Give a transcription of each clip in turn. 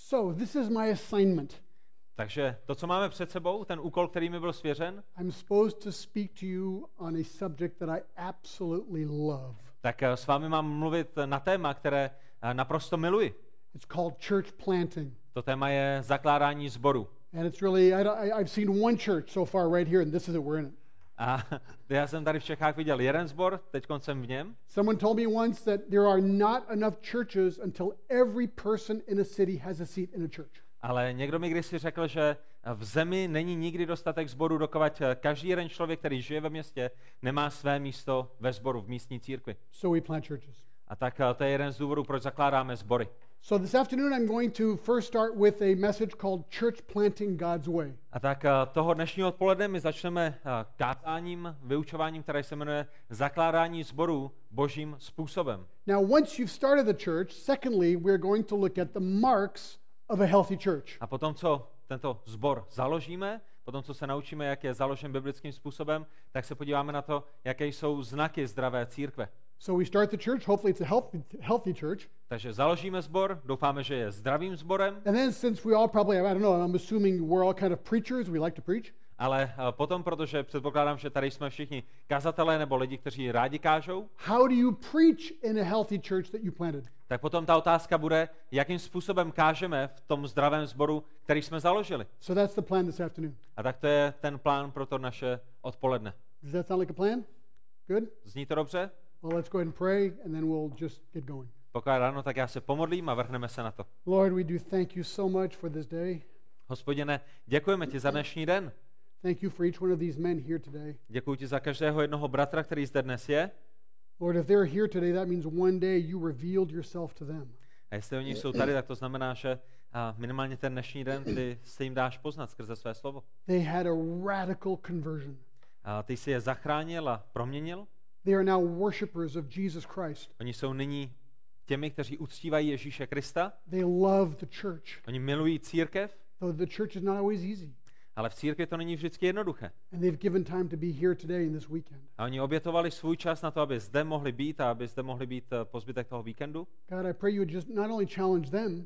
So, this is my assignment. Takže to, co máme před sebou, ten úkol, který mi byl svěřen, I'm supposed to speak to you on a subject that I absolutely love. tak s vámi mám mluvit na téma, které naprosto miluji. It's called church planting. To téma je zakládání sboru. And it's really, I've seen one church so far right here, and this is it, we're in it. A já jsem tady v Čechách viděl jeden sbor, teď jsem v něm. Someone told me once that there are not enough churches until every person in a city has a seat in a church. Ale někdo mi kdysi řekl, že v zemi není nikdy dostatek sborů, dokud každý jeden člověk, který žije ve městě, nemá své místo ve sboru, v místní církvi. So we plant churches. A tak to je jeden z důvodů, proč zakládáme sbory. So this afternoon I'm going to first start with a message called Church Planting God's Way. A tak toho dnešního odpoledne my začneme kázáním, vyučováním, které se jmenuje Zakládání sborů božím způsobem. Now once you've started the church, secondly we're going to look at the marks of a healthy church. A potom, co tento sbor založíme, potom, co se naučíme, jak je založen biblickým způsobem, tak se podíváme na to, jaké jsou znaky zdravé církve. So we start the church, hopefully it's a healthy church. Takže založíme sbor, doufáme, že je zdravým sborem. And then since we all probably, I don't know, I'm assuming we're all kind of preachers, we like to preach. Ale potom, protože předpokládám, že tady jsme všichni kazatelé nebo lidi, kteří rádi kážou, How do you preach in a healthy church that you planted? tak potom ta otázka bude, jakým způsobem kážeme v tom zdravém sboru, který jsme založili. So that's the plan this afternoon. A tak to je ten plán pro to naše odpoledne. Does that sound like a plan? Good? Zní to dobře? Well, let's go ahead and pray and then we'll just get going. Pokud ráno, tak já se pomodlím a vrhneme se na to. Lord, we do thank you so much for this day. Hospodine, děkujeme ti za dnešní den. Thank you for each one of these men here today. Děkuji ti za každého jednoho bratra, který zde dnes je. Lord, if they're here today, that means one day you revealed yourself to them. A jestli oni jsou tady, tak to znamená, že minimálně ten dnešní den ty se jim dáš poznat skrze své slovo. They had a radical conversion. A ty jsi je zachránil a proměnil. They are now worshipers of Jesus Christ. Oni jsou nyní těmi, kteří uctívají Ježíše Krista. They love the church. Oni milují církev, Though the church is not always easy. ale v církvi to není vždycky jednoduché. And they've given time to be here today and this weekend. A oni obětovali svůj čas na to, aby zde mohli být a aby zde mohli být po zbytek toho víkendu. God, I pray you would just not only challenge them,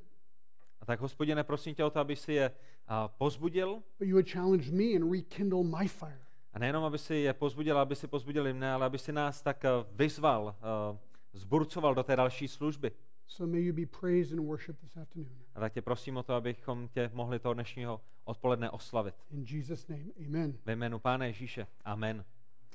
A tak, Hospodine, prosím tě o to, aby si je pozbudil. but you would challenge me and rekindle my fire. A nejenom, aby si je pozbudil, aby si pozbudili mne, ale aby si nás tak vyzval, zburcoval do té další služby. So may you be praised and worshiped this afternoon. A tak tě prosím o to, abychom tě mohli toho dnešního odpoledne oslavit. In Jesus' name, amen. Ve jménu Pána Ježíše. Amen.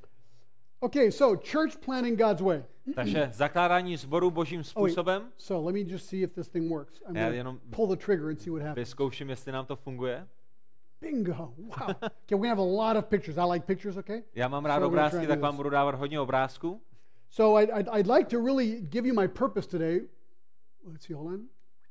Okay, so church planting God's way. Takže zakládání sboru božím způsobem. So let me just see if this thing works. I'm Já going jenom to pull the trigger and see what happens. vyzkouším, jestli nám to funguje. Bingo. Wow. Okay, we're going to have a lot of pictures. I like pictures, okay? Já mám rád So we're gonna try obrázky, to tak do vám this. budu dávat hodně obrázků. So I'd like to really give you my purpose today. Let's see, hold on.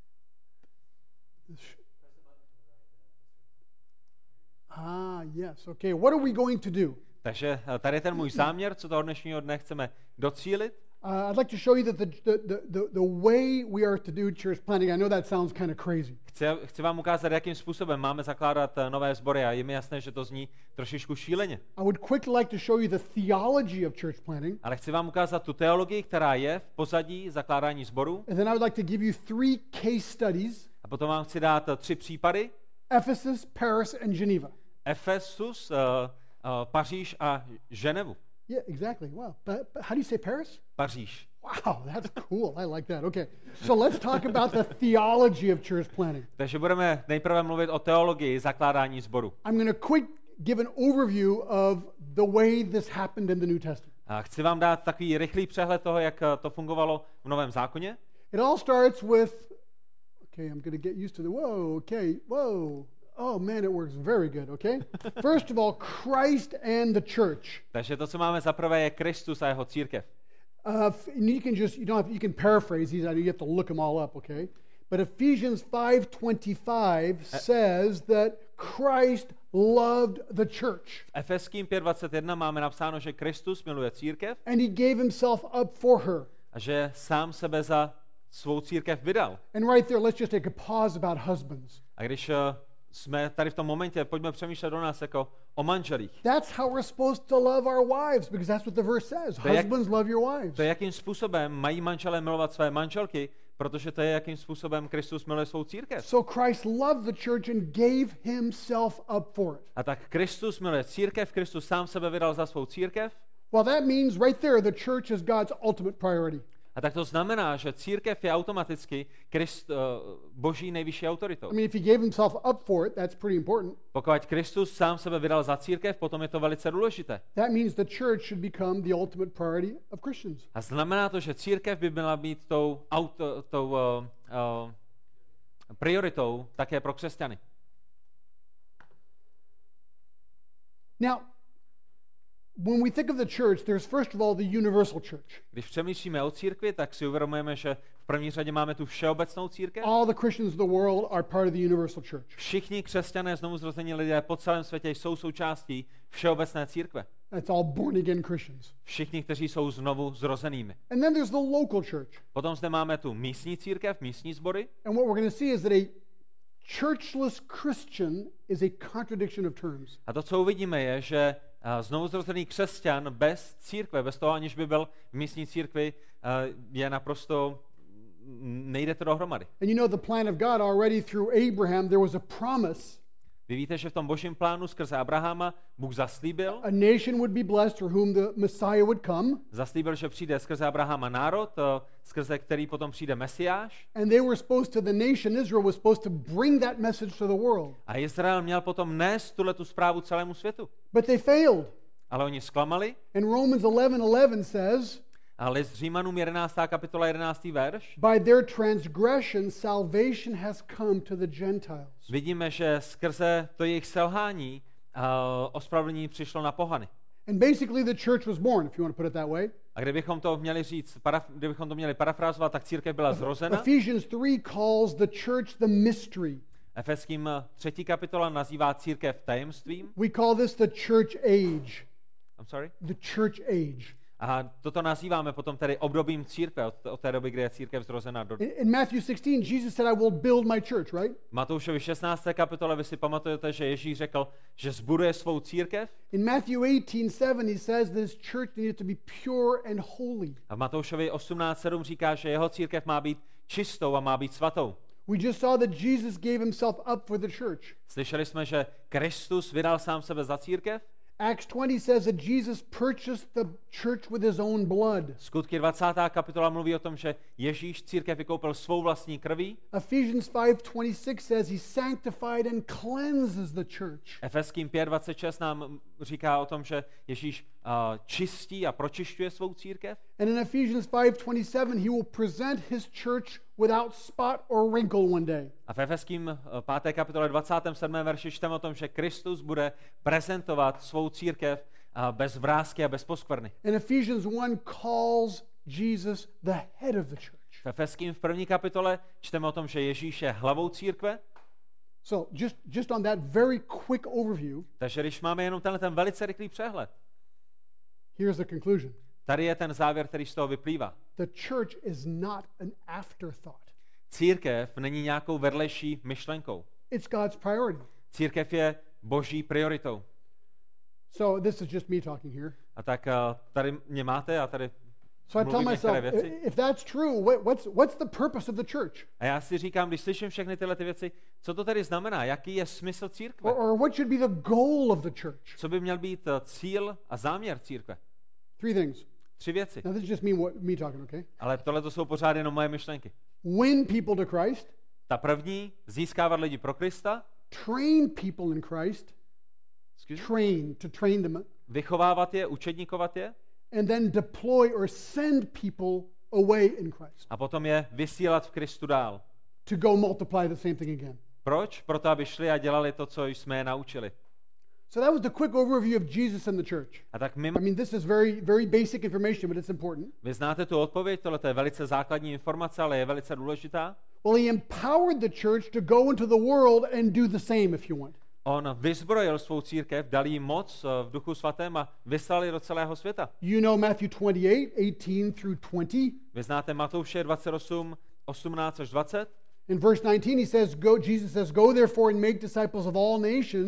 Yes. Okay, what are we going to do? Takže tady je ten můj záměr, co toho dnešního dne chceme docílit. I'd like to show you that the way we are to do church planting, I know that sounds kind of crazy. Chci vám ukázat, jakým způsobem máme zakládat nové sbory a je mi jasné, že to zní trošičku šíleně. I would quickly like to show you the theology of church planting. Ale chci vám ukázat tu teologii, která je v pozadí zakládání sborů. And then I would like to give you 3 case studies: A potom vám chci dát 3 případy. Ephesus, Paris, and Geneva. Efesus, Paříž a Ženevu. Yeah, exactly. Wow. But how do you say Paris? Paříž. Wow, that's cool. I like that. Okay. So let's talk about the theology of church planting. Takže budeme nejprve mluvit o teologii zakládání sboru. I'm going to quick give an overview of the way this happened in the New Testament. A chci vám dát takový rychlý přehled toho, jak to fungovalo v Novém zákoně. It all starts with, okay, I'm going to get used to the, whoa. Oh man, it works very good, okay? First of all, Christ and the church. Takže to, co máme za prvé, je Kristus a jeho církev. You can just, you can paraphrase these, you have to look them all up, okay? But Ephesians 5:25 says that Christ loved the church. V Efeským 5:21 máme napsáno, že Kristus miluje církev And he gave himself up for her. a že sám sebe za svou církev vydal. And right there, let's just take a pause about husbands. A když jsme tady v tom momentě, pojďme přemýšlet o nás jako o manželích. That's how we're supposed to love our wives, because that's what the verse says. Husbands, love your wives. To je, jakým způsobem mají manželé milovat své manželky, protože to je, jakým způsobem Kristus miluje svou církev. So Christ loved the church and gave himself up for it. A tak Kristus miluje církev, Kristus sám sebe vydal za svou církev. Well, that means right there the church is God's ultimate priority. A tak to znamená, že církev je automaticky Boží nejvyšší autoritou. I mean, if he gave himself up for it, that's pretty important. Pokud Kristus sám sebe vydal za církev, potom je to velice důležité. That means the church should become the ultimate priority of Christians. A znamená to, že církev by měla být tou prioritou také pro křesťany. Now, when we think of the church, there's first of all the universal church. Když přemýšlíme o církvi, tak si uvědomujeme, že v první řadě máme tu všeobecnou církev. All the Christians of the world are part of the universal church. Všichni křesťané, znovuzrození lidé po celém světě jsou součástí všeobecné církve. That's all born again Christians. Všichni, kteří jsou znovu zrozenými. And then there's the local church. Potom zde máme tu místní církev, místní sbory. And what we're going to see is that a churchless Christian is a contradiction of terms. A to, co uvidíme, je, že znovuzrozený křesťan bez církve, bez toho, aniž by byl v místní církvi, je naprosto, nejde to dohromady. And you know the plan of God already through Abraham, there was a promise. Vy víte, že v tom božím plánu skrze Abrahama Bůh zaslíbil, A nation would be blessed through whom the Messiah would come. Zaslíbil, že přijde skrze Abrahama národ, skrze který potom přijde Mesiáš. And they were supposed to, the nation Israel was supposed to bring that message to the world. A Izrael měl potom nést tu zprávu celému světu. But they failed. Ale oni zklamali. And Romans 11:11 says, A list Římanům 11. kapitola 11. verš. by their transgression salvation has come to the Gentiles. Vidíme, že skrze to jejich selhání ospravedlnění přišlo na pohany. And basically the church was born, if you want to put it that way. A kdybychom to měli říct, kdybychom to měli parafrázovat, tak církev byla zrozena. Ephesians 3 calls the church the mystery. Efeským 3. kapitola nazývá církev tajemstvím. We call this the church age. I'm sorry? The church age. A toto nazýváme potom tedy obdobím církve, od té doby, kdy je církev zrozena. In Matthew 16, Jesus said, I will build my church, right? V Matoušovi 16. kapitole vy si pamatujete, že Ježíš řekl, že zbuduje svou církev. In Matthew 18:7, he says this church needed to be pure and holy. A v Matoušovi 18:7 říká, že jeho církev má být čistou a má být svatou. We just saw that Jesus gave himself up for the church. Slyšeli jsme, že Kristus vydal sám sebe za církev. Acts 20 says that Jesus purchased the church with his own blood. Skutky 20. kapitola mluví o tom, že Ježíš církev vykoupil svou vlastní krví. Ephesians 5:26 says he sanctified and cleanses the church. Efeským 5:26 nám říká o tom, že Ježíš čistí a pročišťuje svou církev. And in Ephesians 5:27 he will present his church without spot or wrinkle one day. A v Efeským 5. kapitole 27. verši čteme o tom, že Kristus bude prezentovat svou církev bez vrásky a bez poskvrny. And Ephesians 1 calls Jesus the head of the church. V Efeským v 1. kapitole čteme o tom, že Ježíš je hlavou církve. So just on that very quick overview, Takže když máme jenom ten velice rychlý přehled, here's the conclusion. tady je ten závěr, který z toho vyplývá. The church is not an afterthought. Církev není nějakou vedlejší myšlenkou. It's God's priority. Církev je boží prioritou. So this is just me talking here. A tak tady mě máte a tady So I tell mluvím myself, některé věci. if that's true, what's the purpose of the church? A já si říkám, když slyším všechny tyhle ty věci, co to tady znamená? Jaký je smysl církve? Or what should be the goal of the church? Co by měl být cíl a záměr církve? Three things. 3 věci. Now this is just me talking, okay? Ale tohle to jsou pořád jenom moje myšlenky. Win people to Christ, Ta první, získávat lidi pro Krista, train people in Christ, to train them, vychovávat je, učedníkovat je, and then deploy or send people away in Christ a potom je vysílat v Kristu dál. to go multiply the same thing again. Proč? Proto, aby šli a dělali to, co jsme je naučili. So that was the quick overview of Jesus and the church. A tak I mean, this is very, very basic information, but it's important. vy znáte tu odpověď, tohle je velice základní informace, ale je velice důležitá. Well, he empowered the church to go into the world and do the same, if you want. On vyzbrojil svou církev, dal jí moc v Duchu svatém a vyslal ji do celého světa. You know Matthew 28:18 through 20. Vy znáte Matouše 28, 18 až 20. In verse 19, Jesus says, go therefore and make disciples of all nations,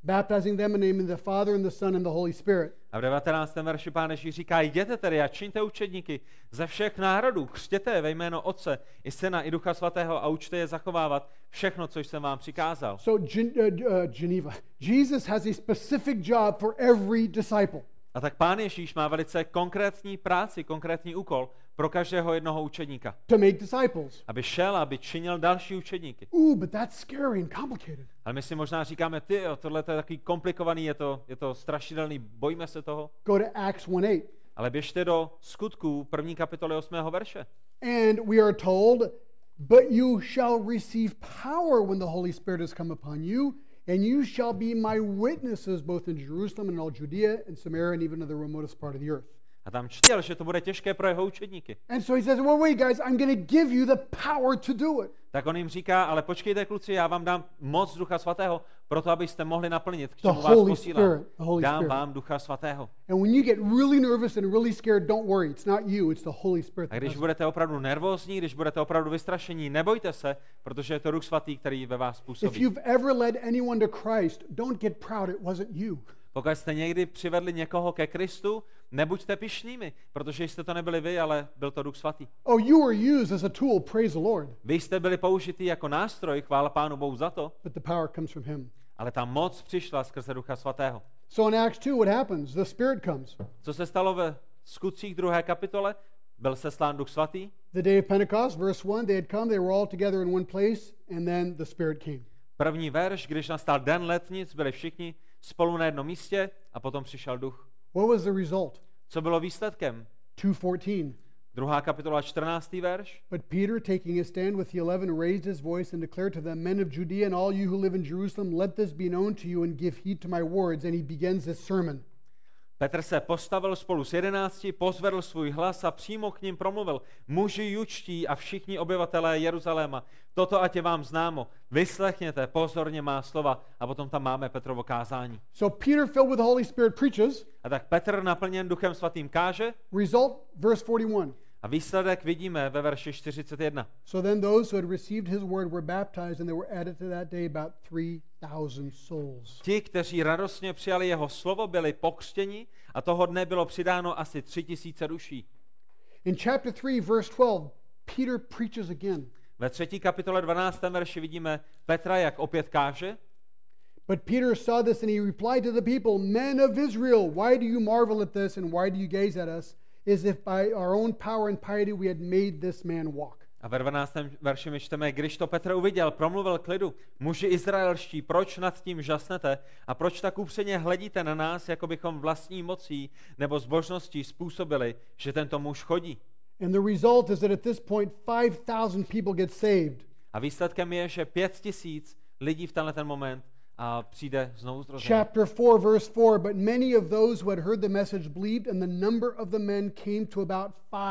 baptizing them in the name of the Father and the Son and the Holy Spirit. A v 19. verši Pán Ježíš říká, jděte tedy a čiňte učedníky ze všech národů, křtěte je ve jméno Otce i Syna i Ducha Svatého a učte je zachovávat všechno, co jsem vám přikázal. So Geneva, Jesus has a specific job for every disciple. A tak Pán Ježíš má velice konkrétní práci, konkrétní úkol pro každého jednoho učedníka. To make disciples. Aby šel, aby činil další učedníky. But that's scary and complicated. Ale my si možná říkáme, tohle je takový komplikovaný, je to strašidelný, bojíme se toho. Go to Acts 1:8. Ale běžte do Skutků 1. kapitoly 8. verše. And we are told, but you shall receive power when the Holy Spirit has come upon you, and you shall be my witnesses both in Jerusalem and all Judea and Samaria and even to the remotest part of the earth. A tam čtěl, že to bude těžké pro jeho učedníky. And so he says, well, wait, guys, I'm going to give you the power to do it. Tak on jim říká, ale počkejte, kluci, já vám dám moc Ducha Svatého, proto abyste mohli naplnit, k čemu vás posílám. Dám vám Ducha Svatého. And when you get really nervous and really scared, don't worry, it's not you, it's the Holy Spirit. A když budete opravdu nervózní, když budete opravdu vystrašení, nebojte se, protože je to Duch Svatý, který ve vás působí. If you've ever led anyone to Christ, don't get proud, it wasn't you. Pokud jste někdy přivedli někoho ke Kristu, nebuďte pyšnými, protože jste to nebyli vy, ale byl to Duch Svatý. Oh, you were used as a tool, praise the Lord. Vy jste byli použití jako nástroj, chvála Pánu Bohu za to, But the power comes from him. ale ta moc přišla skrze Ducha Svatého. So in Acts 2, what happens? The Spirit comes. Co se stalo ve Skutcích 2. kapitole? Byl seslán Duch Svatý. The day of Pentecost, verse 1, they had come, they were all together in one place, and then the Spirit came. První verš, když nastal den letnic, byli všichni spolu na jednom místě a potom přišel Duch. What was the result? Co bylo výsledkem? 2:14. 2. kapitola 14. verš. But Peter, taking his stand with the 11, raised his voice and declared to them, men of Judea and all you who live in Jerusalem, let this be known to you and give heed to my words. And he begins his sermon. Petr se postavil spolu s 11, pozvedl svůj hlas a přímo k nim promluvil. Muži jučtí a všichni obyvatelé Jeruzaléma, toto ať je vám známo. Vyslechněte pozorně má slova. A potom tam máme Petrovo kázání. So Peter, filled with the Holy Spirit, preaches. A tak Petr, naplněn Duchem Svatým, káže. Result, verse 41. A výsledek vidíme ve verši 41. So then those who had received his word were baptized, and there were added to that day about 3,000 souls. Ti, kteří radostně přijali jeho slovo, byli pokřtěni a toho dne bylo přidáno asi 3,000 duší. In chapter 3, verse 12, Peter preaches again. Ve 3. kapitole 12. verši vidíme Petra, jak opět káže. But Peter saw this and he replied to the people, men of Israel, why do you marvel at this and why do you gaze at us, as if by our own power and piety we had made this man walk? A ve 12. verši my čteme, když to Petr uviděl, promluvil k lidu, muži izraelští, proč nad tím žasnete a proč tak upřeně hledíte na nás, jako bychom vlastní mocí nebo zbožností způsobili, že tento muž chodí. And the result is that at this point 5,000 people get saved. A výsledkem je, že 5,000 lidí v tenhle moment a přijde znovu zrození. Chapter 4, verse 4, but many of those who had heard the message believed, and the number of the men came to about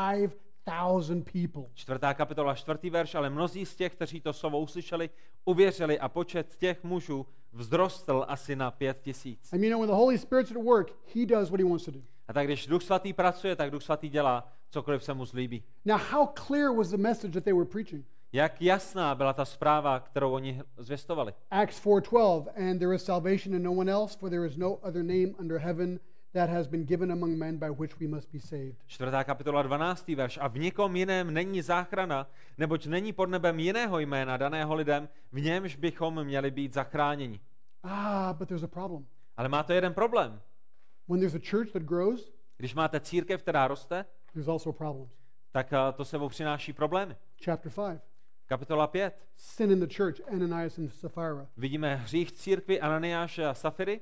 5,000 people. 4. kapitola, 4. verš, ale mnozí z těch, kteří to slovo uslyšeli, uvěřili a počet těch mužů vzrostl asi na 5,000. I mean, when the Holy Spirit's at work, he does what he wants to do. A tak když Duch Svatý pracuje, tak Duch Svatý dělá cokoliv se mu zlíbí. Now, how clear was the message that they were preaching? Jak jasná byla ta zpráva, kterou oni zvěstovali. Acts 4:12, and there is salvation in no one else, for there is no other name under heaven that has been given among men by which we must be saved. 4. kapitola 12. verš. A v nikom jiném není záchrana, neboť není pod nebem jiného jména daného lidem, v němž bychom měli být zachráněni. But there's a problem. Ale má to jeden problém. When there's a church that grows, Když máte církev, která roste, there's also problems. tak to sebou přináší problémy. Chapter 5, Kapitola 5. sin in the church, Ananias and Sapphira. Vidíme hřích církvi Ananiáše a Safiry.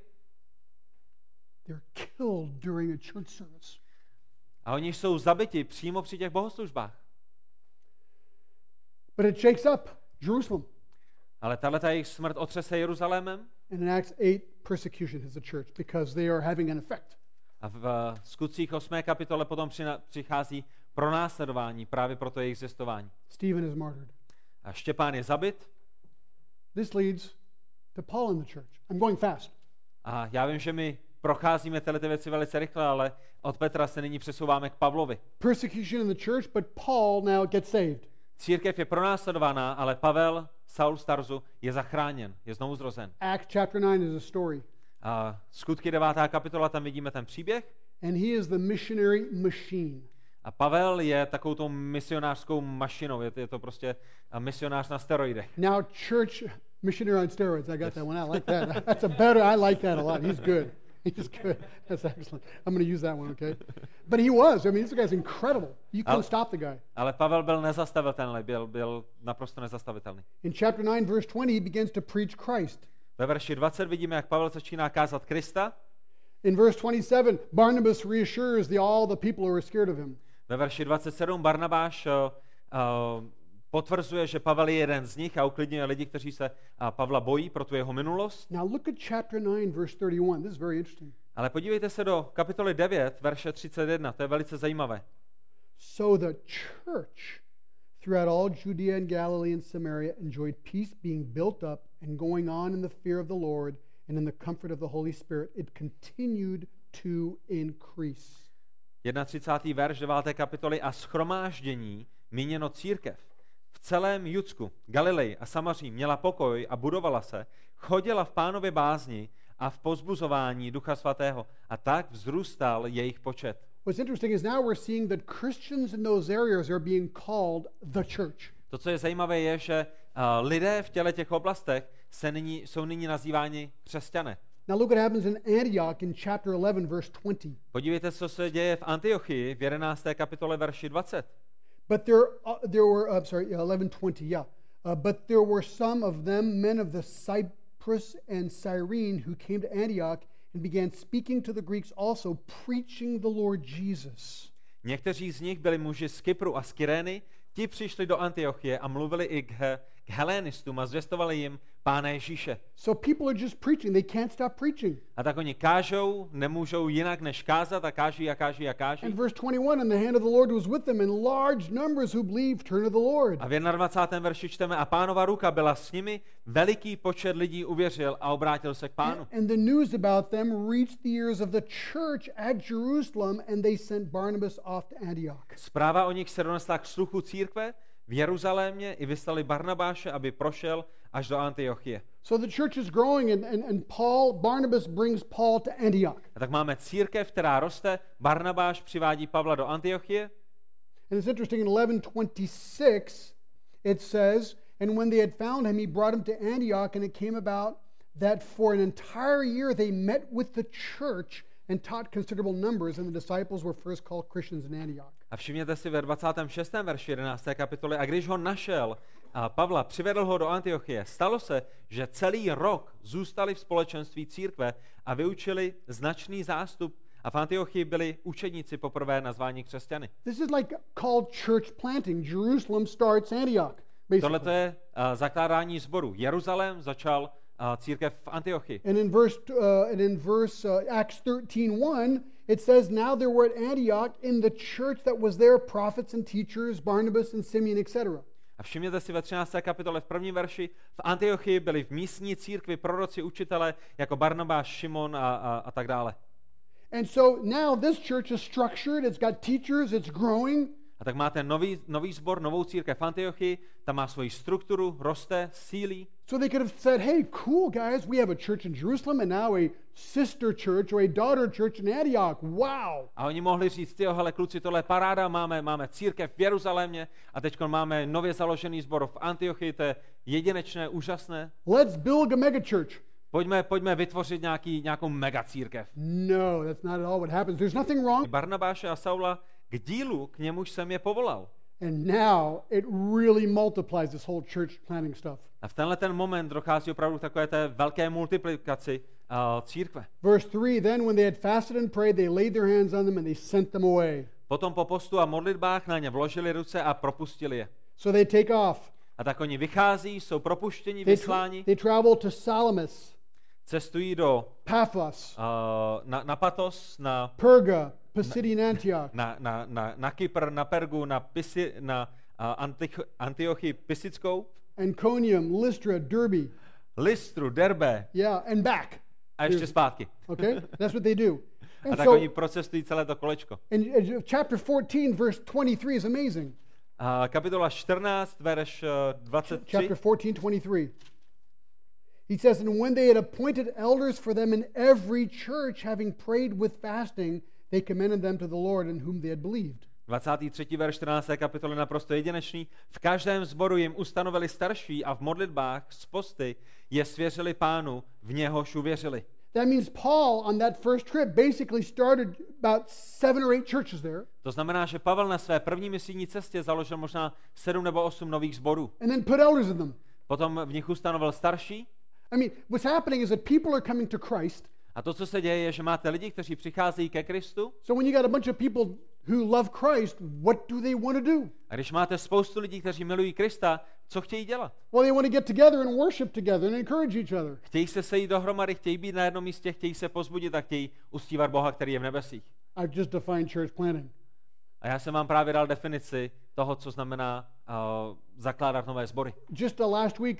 They're killed during a church service. A oni jsou zabiti přímo při těch bohoslužbách. But it shakes up Jerusalem. Ale tahleta jejich smrt otřese Jeruzalémem. And in Acts 8, persecution hits the church because they are having an effect. A v Skutcích 8. kapitole potom přichází pronásledování právě pro to jejich zvěstování. Stephen is martyred. A Štěpán je zabit. This leads to Paul in the church. I'm going fast. A já vím, že my procházíme tyhle věci velice rychle, ale od Petra se nyní přesouváme k Pavlovi. Persecution in the church, but Paul now gets saved. Církev je pronásledovaná, ale Pavel, Saul z Tarzu, je zachráněn, je znovu zrozen. Acts chapter 9 is a story. Skutky 9. kapitola, tam vidíme ten příběh. And he is the missionary machine. A Pavel je takovou tou misionářskou mašinou, je to prostě misionář na steroidech. Now church missionary on steroids. I got that one. I like that. That's a better. I like that a lot. He's good. He's good. That's excellent. I'm going to use that one, okay? But he was. I mean, this guy's incredible. You couldn't stop the guy. Ale Pavel byl nezastavitelný, byl naprosto nezastavitelný. In chapter 9, verse 20, he begins to preach Christ. Ve verši 20 vidíme, jak Pavel začíná kázat Krista. In verse 27, Barnabas reassures all the people who are scared of him. Ve verši 27 Barnabáš potvrzuje, že Pavel je jeden z nich a uklidňuje lidi, kteří se Pavla bojí pro tu jeho minulost. Now look at chapter 9, verse 31. This is very interesting. Ale podívejte se do kapitoly 9, verše 31, to je velice zajímavé. So the church throughout all Judea and Galilee and Samaria enjoyed peace, being built up and going on in the fear of the Lord and in the comfort of the Holy Spirit. It continued to increase. 31. verš 9. kapitoly a shromáždění, míněno církev, v celém Judsku, Galileji a Samaří měla pokoj a budovala se, chodila v Pánově bázni a v povzbuzování Ducha Svatého a tak vzrůstal jejich počet. What's interesting is now we're seeing that Christians in those areas are being called the church. To, co je zajímavé, je, že lidé v těch oblastech jsou nyní nazýváni křesťané. Now look what happens in Antioch in chapter 11, verse 20. Podívejte, co se děje v Antiochii v 11. kapitole verši 20. But there were 11:20, yeah. But there were some of them, men of the Cyprus and Cyrene, who came to Antioch and began speaking to the Greeks also, preaching the Lord Jesus. Někteří z nich byli muži z Kypru a z Kyrény, ti přišli do Antiochie a mluvili i k helénistům a zvěstovali jim Pána Ježíše. So people are just preaching, they can't stop preaching. A tak oni kážou, nemůžou jinak než kázat a káží a káží a káží. And verse 21, and the hand of the Lord was with them, and large numbers who believed turned to the Lord. A v 21. verši čteme, a Pánova ruka byla s nimi, veliký počet lidí uvěřil a obrátil se k Pánu. And the news about them reached the ears of the church at Jerusalem, and they sent Barnabas off to Antioch. Zpráva o nich se donesla k sluchu církve v Jeruzalémě i vyslali Barnabáše, aby prošel až do Antiochie. So the church is growing, and Barnabas brings Paul to Antioch. A tak máme církev, která roste, Barnabáš přivádí Pavla do Antiochie. And it's interesting, in 11:26 it says, and when they had found him, he brought him to Antioch, and it came about that for an entire year they met with the church and taught considerable numbers, and the disciples were first called Christians in Antioch. A všimněte si ve 26. verši 11. kapitoly, a když ho našel, Pavla přivedl ho do Antiochie, stalo se, že celý rok zůstali v společenství církve a vyučili značný zástup a v Antiochii byli učedníci poprvé nazváni křesťany. This is like called church planting. Jerusalem starts Antioch, basically. Tohle je zakládání sboru. Jeruzalém začal církev v Antiochii. And in verse Acts 13:1, it says, now there were at Antioch in the church that was there prophets and teachers, Barnabas and Simeon, etc. A všimněte si ve 13. kapitole v prvním verši, v Antiochii byli v místní církvi proroci, učitelé jako Barnabáš, Šimon a tak dále. And so now this church is structured, it's got teachers, it's growing. A tak máte nový sbor, novou církev v Antiochii, tam má svoji strukturu, roste, sílí. So they could have said, hey, cool guys, we have a church in Jerusalem and now a sister church or a daughter church in Antioch. Wow. A oni mohli říct, hele kluci, tohle je paráda, máme církev v Jeruzalémě a teď máme nově založený sbor v Antiochii, to je jedinečné, úžasné. Let's build a megachurch. Pojďme vytvořit nějakou megacírkev. No, that's not at all what happens. There's nothing wrong. Barnabáše a Saula k dílu, k němuž jsem je povolal. And now it really multiplies this whole church planting stuff. A v tenhle ten moment dochází opravdu k takové té velké multiplikaci církve. Verse 3, then when they had fasted and prayed, they laid their hands on them and they sent them away. Potom po postu a modlitbách na ně vložili ruce a propustili je. So they take off. A tak oni vychází, jsou propuštěni, vysláni. They travel to Salamis. Cestují do Paphos. Na Patos, na Perga, Pisidian Antioch. Na Kypr, na Pergu, na Antiochii Pisickou. Anconium, Lystra, Derbe. Lystru, Derbe. Yeah, and back. A ještě zpátky. Okay, that's what they do. A tak oni procestují celé to kolečko. And chapter 14, verse 23 is amazing. Kapitola 14, verš 23. Chapter 14, 23. He says, and when they had appointed elders for them in every church, having prayed with fasting, they commended them to the Lord in whom they had believed. 23. verš 14. kapitoly naprosto jedinečný. V každém sboru jim ustanovili starší a v modlitbách z posty je svěřili Pánu, v něhož uvěřili. That means Paul on that first trip basically started about 7 or 8 churches there. To znamená, že Pavel na své první misijní cestě založil možná 7 nebo 8 nových sborů. And then put elders in them. Potom v nich ustanovil starší. I mean, what's happening is that people are coming to Christ. A to, co se děje, je, že máte lidi, kteří přicházejí ke Kristu. So when you got a bunch of people who love Christ, what do they want to do? A když máte spoustu lidí, kteří milují Krista, co chtějí dělat? Well, they want to get together and worship together and encourage each other. Chtějí se sejít dohromady, chtějí být na jednom místě, chtějí se pozbudit a chtějí uctívat Boha, který je v nebesích. I've just defined church planting. A já jsem vám právě dal definici toho, co znamená zakládat nové sbory. Just last week,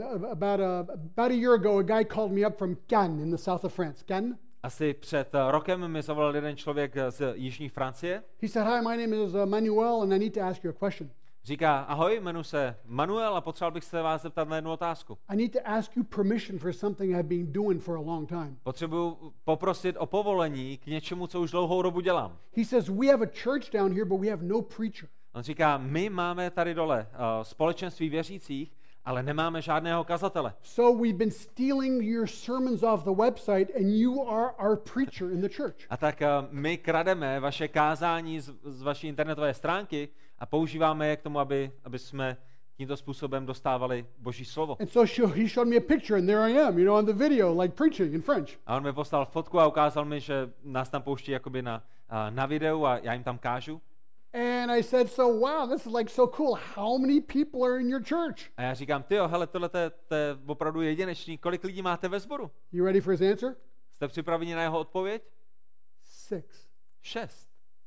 about a year ago, a guy called me up from Cannes in the south of France. Cannes? Asi před rokem mi zavolal jeden člověk z jižní Francie. He said, hi, my name is Manuel, and I need to ask you a question. Říká, ahoj, jmenuji se Manuel a potřeboval bych se vás zeptat na jednu otázku. I need to ask you permission for something I've been doing for a long time. Potřebuji poprosit o povolení k něčemu, co už dlouhou dobu dělám. He says, we have a church down here, but we have no preacher. On říká, my máme tady dole společenství věřících, ale nemáme žádného kazatele. So we've been stealing your sermons off the website, and you are our preacher in the church. A tak my krademe vaše kázání z vaší internetové stránky a používáme je k tomu, aby jsme tímto způsobem dostávali Boží slovo. And so he showed me a picture, and there I am, on the video, like preaching in French. A on mi poslal fotku a ukázal mi, že nás tam pouští jakoby na videu a já jim tam kážu. And I said, so wow, this is like so cool. How many people are in your church? A já říkám, tyjo, hele, tohle to je opravdu jedinečný. Kolik lidí máte ve sboru? You ready for his answer? Jste připraveni na jeho odpověď? 6.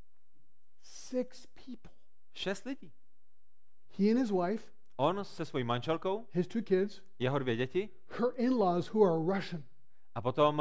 6 people. 6 lidí. He and his wife. On se svojí manželkou. His 2 kids. Jeho 2 děti. Her in-laws who are Russian. A potom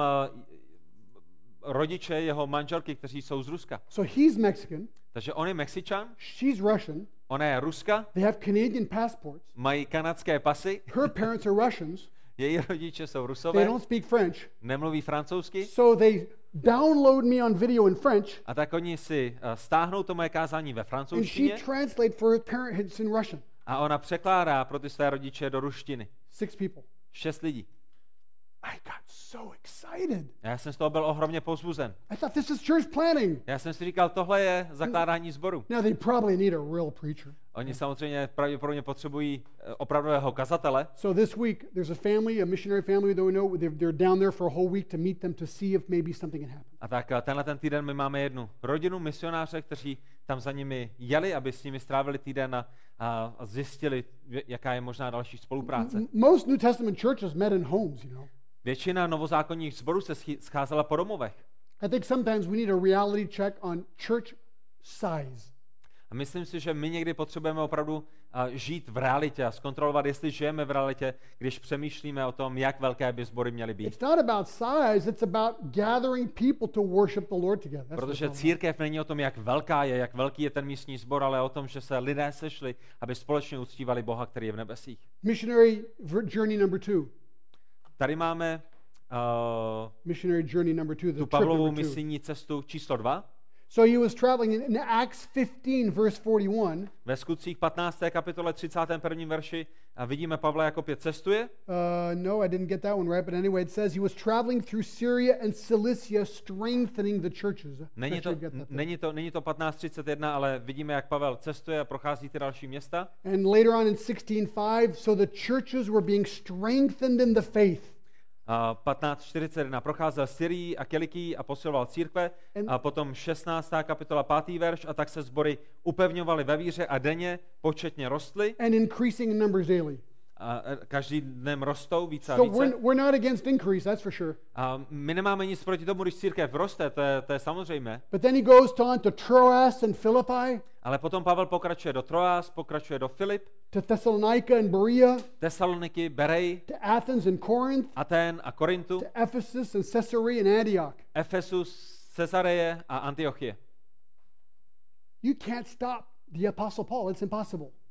rodiče jeho manželky, kteří jsou z Ruska. So he's Mexican. Takže on je Mexičan. She's Russian. Ona je Ruska. They have Canadian passports. Mají kanadské pasy. Her parents are Russians. Její rodiče jsou Rusové. They don't speak French. Nemluví francouzsky. So they download me on video in French. A tak oni si stáhnou to moje kázání ve And francouzštině. she translate for her parents in Russian. A ona překládá pro ty své rodiče do ruštiny. 6 people. 6 lidí. I got so excited. Já jsem z toho byl ohromně povzbuzen. I thought this is church planting. Já jsem si říkal, tohle je zakládání sboru. Now they probably need a real preacher. Oni samozřejmě pravděpodobně potřebují opravdového kazatele. So this week there's a family, a missionary family that we know, they're down there for a whole week to meet them to see if maybe something can happen. A tak tenhle ten týden my máme jednu rodinu misionáře, kteří tam za nimi jeli, aby s nimi strávili týden a zjistili, jaká je možná další spolupráce. Most New Testament churches met in homes, Většina novozákonních sborů se scházela po domovech. I think sometimes we need a reality check on church size. A myslím si, že my někdy potřebujeme opravdu žít v realitě a zkontrolovat, jestli žijeme v realitě, když přemýšlíme o tom, jak velké by sbory měly být. It's not about size, it's about gathering people to worship the Lord together. Protože církev není o tom, jak velká je, jak velký je ten místní sbor, ale o tom, že se lidé sešli, aby společně uctívali Boha, který je v nebesích. Missionary journey number 2. Tady máme missionary journey number 2, tu Pavlovu misijní cestu číslo 2. So he was traveling in Acts 15 verse 41. Ve Skutcích 15. kapitole 31. verši a vidíme Pavla, jak opět cestuje. No, I didn't get that one right, but anyway, it says he was traveling through Syria and Cilicia, strengthening the churches. Není to 15:31, ale vidíme, jak Pavel cestuje a prochází ty další města. And later on in 16:5, so the churches were being strengthened in the faith. 15:41 procházel Syrii a Kilikii a posiloval církve. A potom 16. kapitola 5. verš a tak se sbory upevňovaly ve víře a denně početně rostly. And increasing in numbers daily. A každý dnem rostou více a So více. we're not against increase, that's for sure. A my nemáme nic proti tomu, když církev roste, to je samozřejmé. But then he goes on to Troas and Philippi. Ale potom Pavel pokračuje do Troas, pokračuje do Filip, to Thessalonica and Berea, Tesaloniky, Berej, to Athens and Corinth, Athén a Korintu, to Ephesus and Caesarea and Antioch. Efesus, Cesareje a Antiochie. You can't stop the Apostle Paul. It's impossible.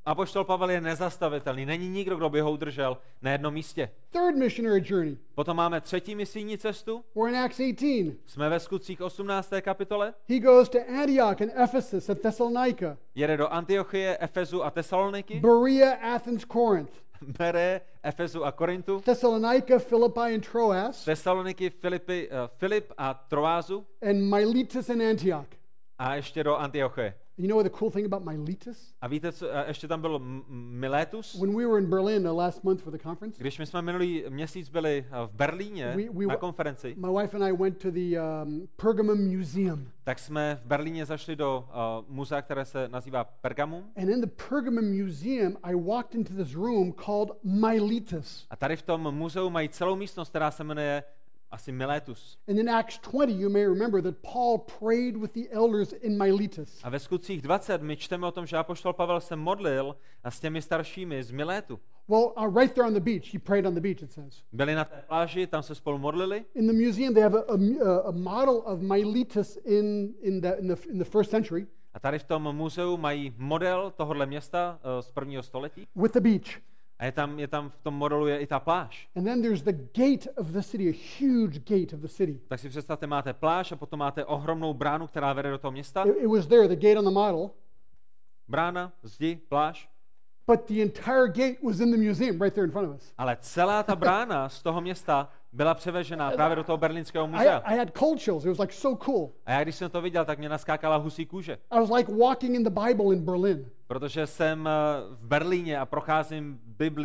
Apoštol Pavel je nezastavitelný, není nikdo, kdo by ho udržel na jednom místě. Third missionary journey. Potom máme třetí misijní cestu, We're in Acts 18. jsme ve Skutcích 18. kapitole, He goes to Antioch and Ephesus and Thessalonica, jede do Antiochie, Efezu a Tesaloniky, Berea, Athens, Corinth, Bere, Efezu a Korintu, Thessalonica, Philippi, and Troas, Tesaloniky, Filip a Troázu and Miletus and Antioch. a ještě do Antiochie. You know what the cool thing about Miletus? A víte, co, ještě tam byl Miletus. When we were in Berlin last month for the conference, Když my jsme minulý měsíc byli v Berlíně na konferenci, my wife and I went to the Pergamum Museum. tak jsme v Berlíně zašli do muzea, které se nazývá Pergamum. And in the Pergamum Museum, I walked into this room called Miletus. A tady v tom muzeu mají celou místnost, která se jmenuje asi Miletus. And in Acts 20, you may remember that Paul prayed with the elders in Miletus. A ve Skutcích 20 my čteme o tom, že apoštol Pavel se modlil s těmi staršími z Miletu. Well, right there on the beach, he prayed on the beach, it says. Byli na té pláži, tam se spolu modlili. In the museum, they have a model of Miletus in the first century. A tady v tom muzeu mají model tohohle města z prvního století. With the beach. A je tam v tom modelu je i ta pláž. And then there's the gate of the city, a huge gate of the city. Tak si představte, máte pláž a potom máte ohromnou bránu, která vede do toho města. It was there, the gate on the model. Brána, zdi, pláž. But the entire gate was in the museum right there in front of us. Ale celá ta brána z toho města byla převežená právě do toho berlínského muzea. I had cold chills. It was like so cool. A já když jsem to viděl, tak mě naskákala husí kůže. I was like walking in the Bible in Berlin. Protože jsem v Berlíně a procházím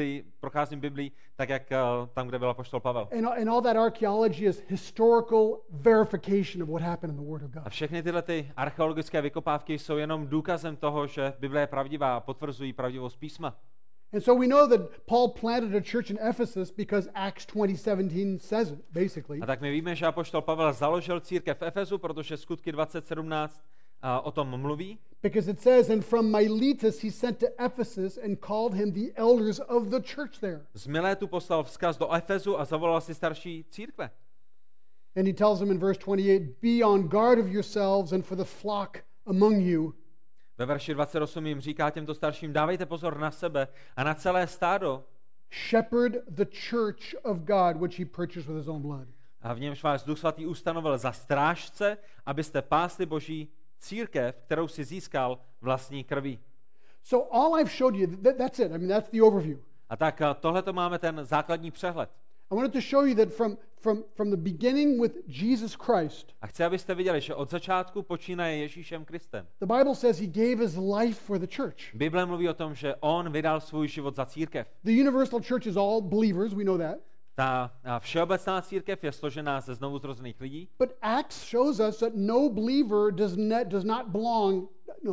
Biblii tak, jak tam, kde byl apoštol Pavel. And all that archaeology is historical verification of what happened in the Word of God. A všechny tyhle ty archeologické vykopávky jsou jenom důkazem toho, že Bible je pravdivá a potvrzují pravdivost písma. And so we know that Paul planted a church in Ephesus because Acts 20:17 says it, basically. A tak my víme, že apoštol Pavel založil církev v Efezu, protože Skutky 20:17 o tom mluví. Because it says, and from Miletus he sent to Ephesus and called him the elders of the church there. Z Miletu poslal vzkaz do Efezu a zavolal si starší církve. And he tells them in verse 28, be on guard of yourselves and for the flock among you. Ve verši 28 jim říká těmto starším, dávejte pozor na sebe a na celé stádo. Shepherd the church of God, which he purchased with his own blood. A v němž vás Duch Svatý ustanovil za strážce, abyste pásli Boží církev, kterou si získal vlastní krví. So all I've showed you, that's it. I mean, that's the overview. A tak tohleto máme ten základní přehled. I wanted to show you that from the beginning with Jesus Christ. A chci, abyste viděli, že od začátku počínaje Ježíšem Kristem. The Bible says he gave his life for the church. Bible mluví o tom, že on vydal svůj život za církev. The universal church is all believers, we know that. Ta všeobecná církev je složená ze znovuzrozených lidí. But Acts shows us that no believer does not belong,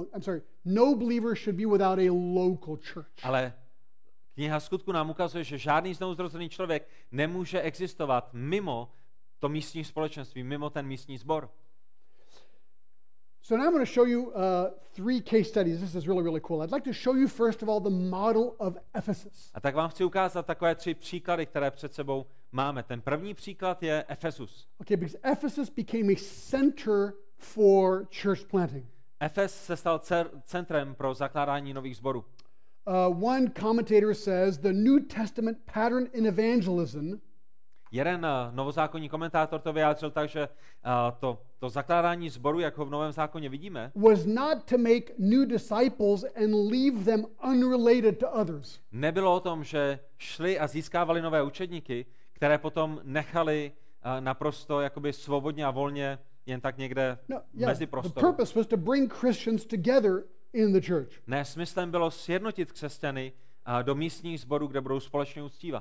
no believer should be without a local church. Ale kniha Skutku nám ukazuje, že žádný znovuzrozený člověk nemůže existovat mimo to místní společenství, mimo ten místní sbor. So now I'm going to show you 3 case studies. This is really, really cool. I'd like to show you first of all the model of Ephesus. A tak vám chci ukázat takové 3 příklady, které před sebou máme. Ten první příklad je Efesus. Okay, because Ephesus became a center for church planting. Efes se stal centrem pro zakládání nových sborů. One commentator says the New Testament pattern in evangelism Jeden novozákonní komentátor to vyjádřil tak, že to zakládání sboru, jak ho v Novém zákoně vidíme, was not to make new disciples and leave them unrelated to others. Nebylo o tom, že šli a získávali nové učedníky, které potom nechali naprosto jakoby svobodně a volně jen tak někde mezi The prostoru. purpose was to bring Christians together in the church. Ne, smyslem bylo sjednotit křesťany do místních sborů, kde budou společně uctívat.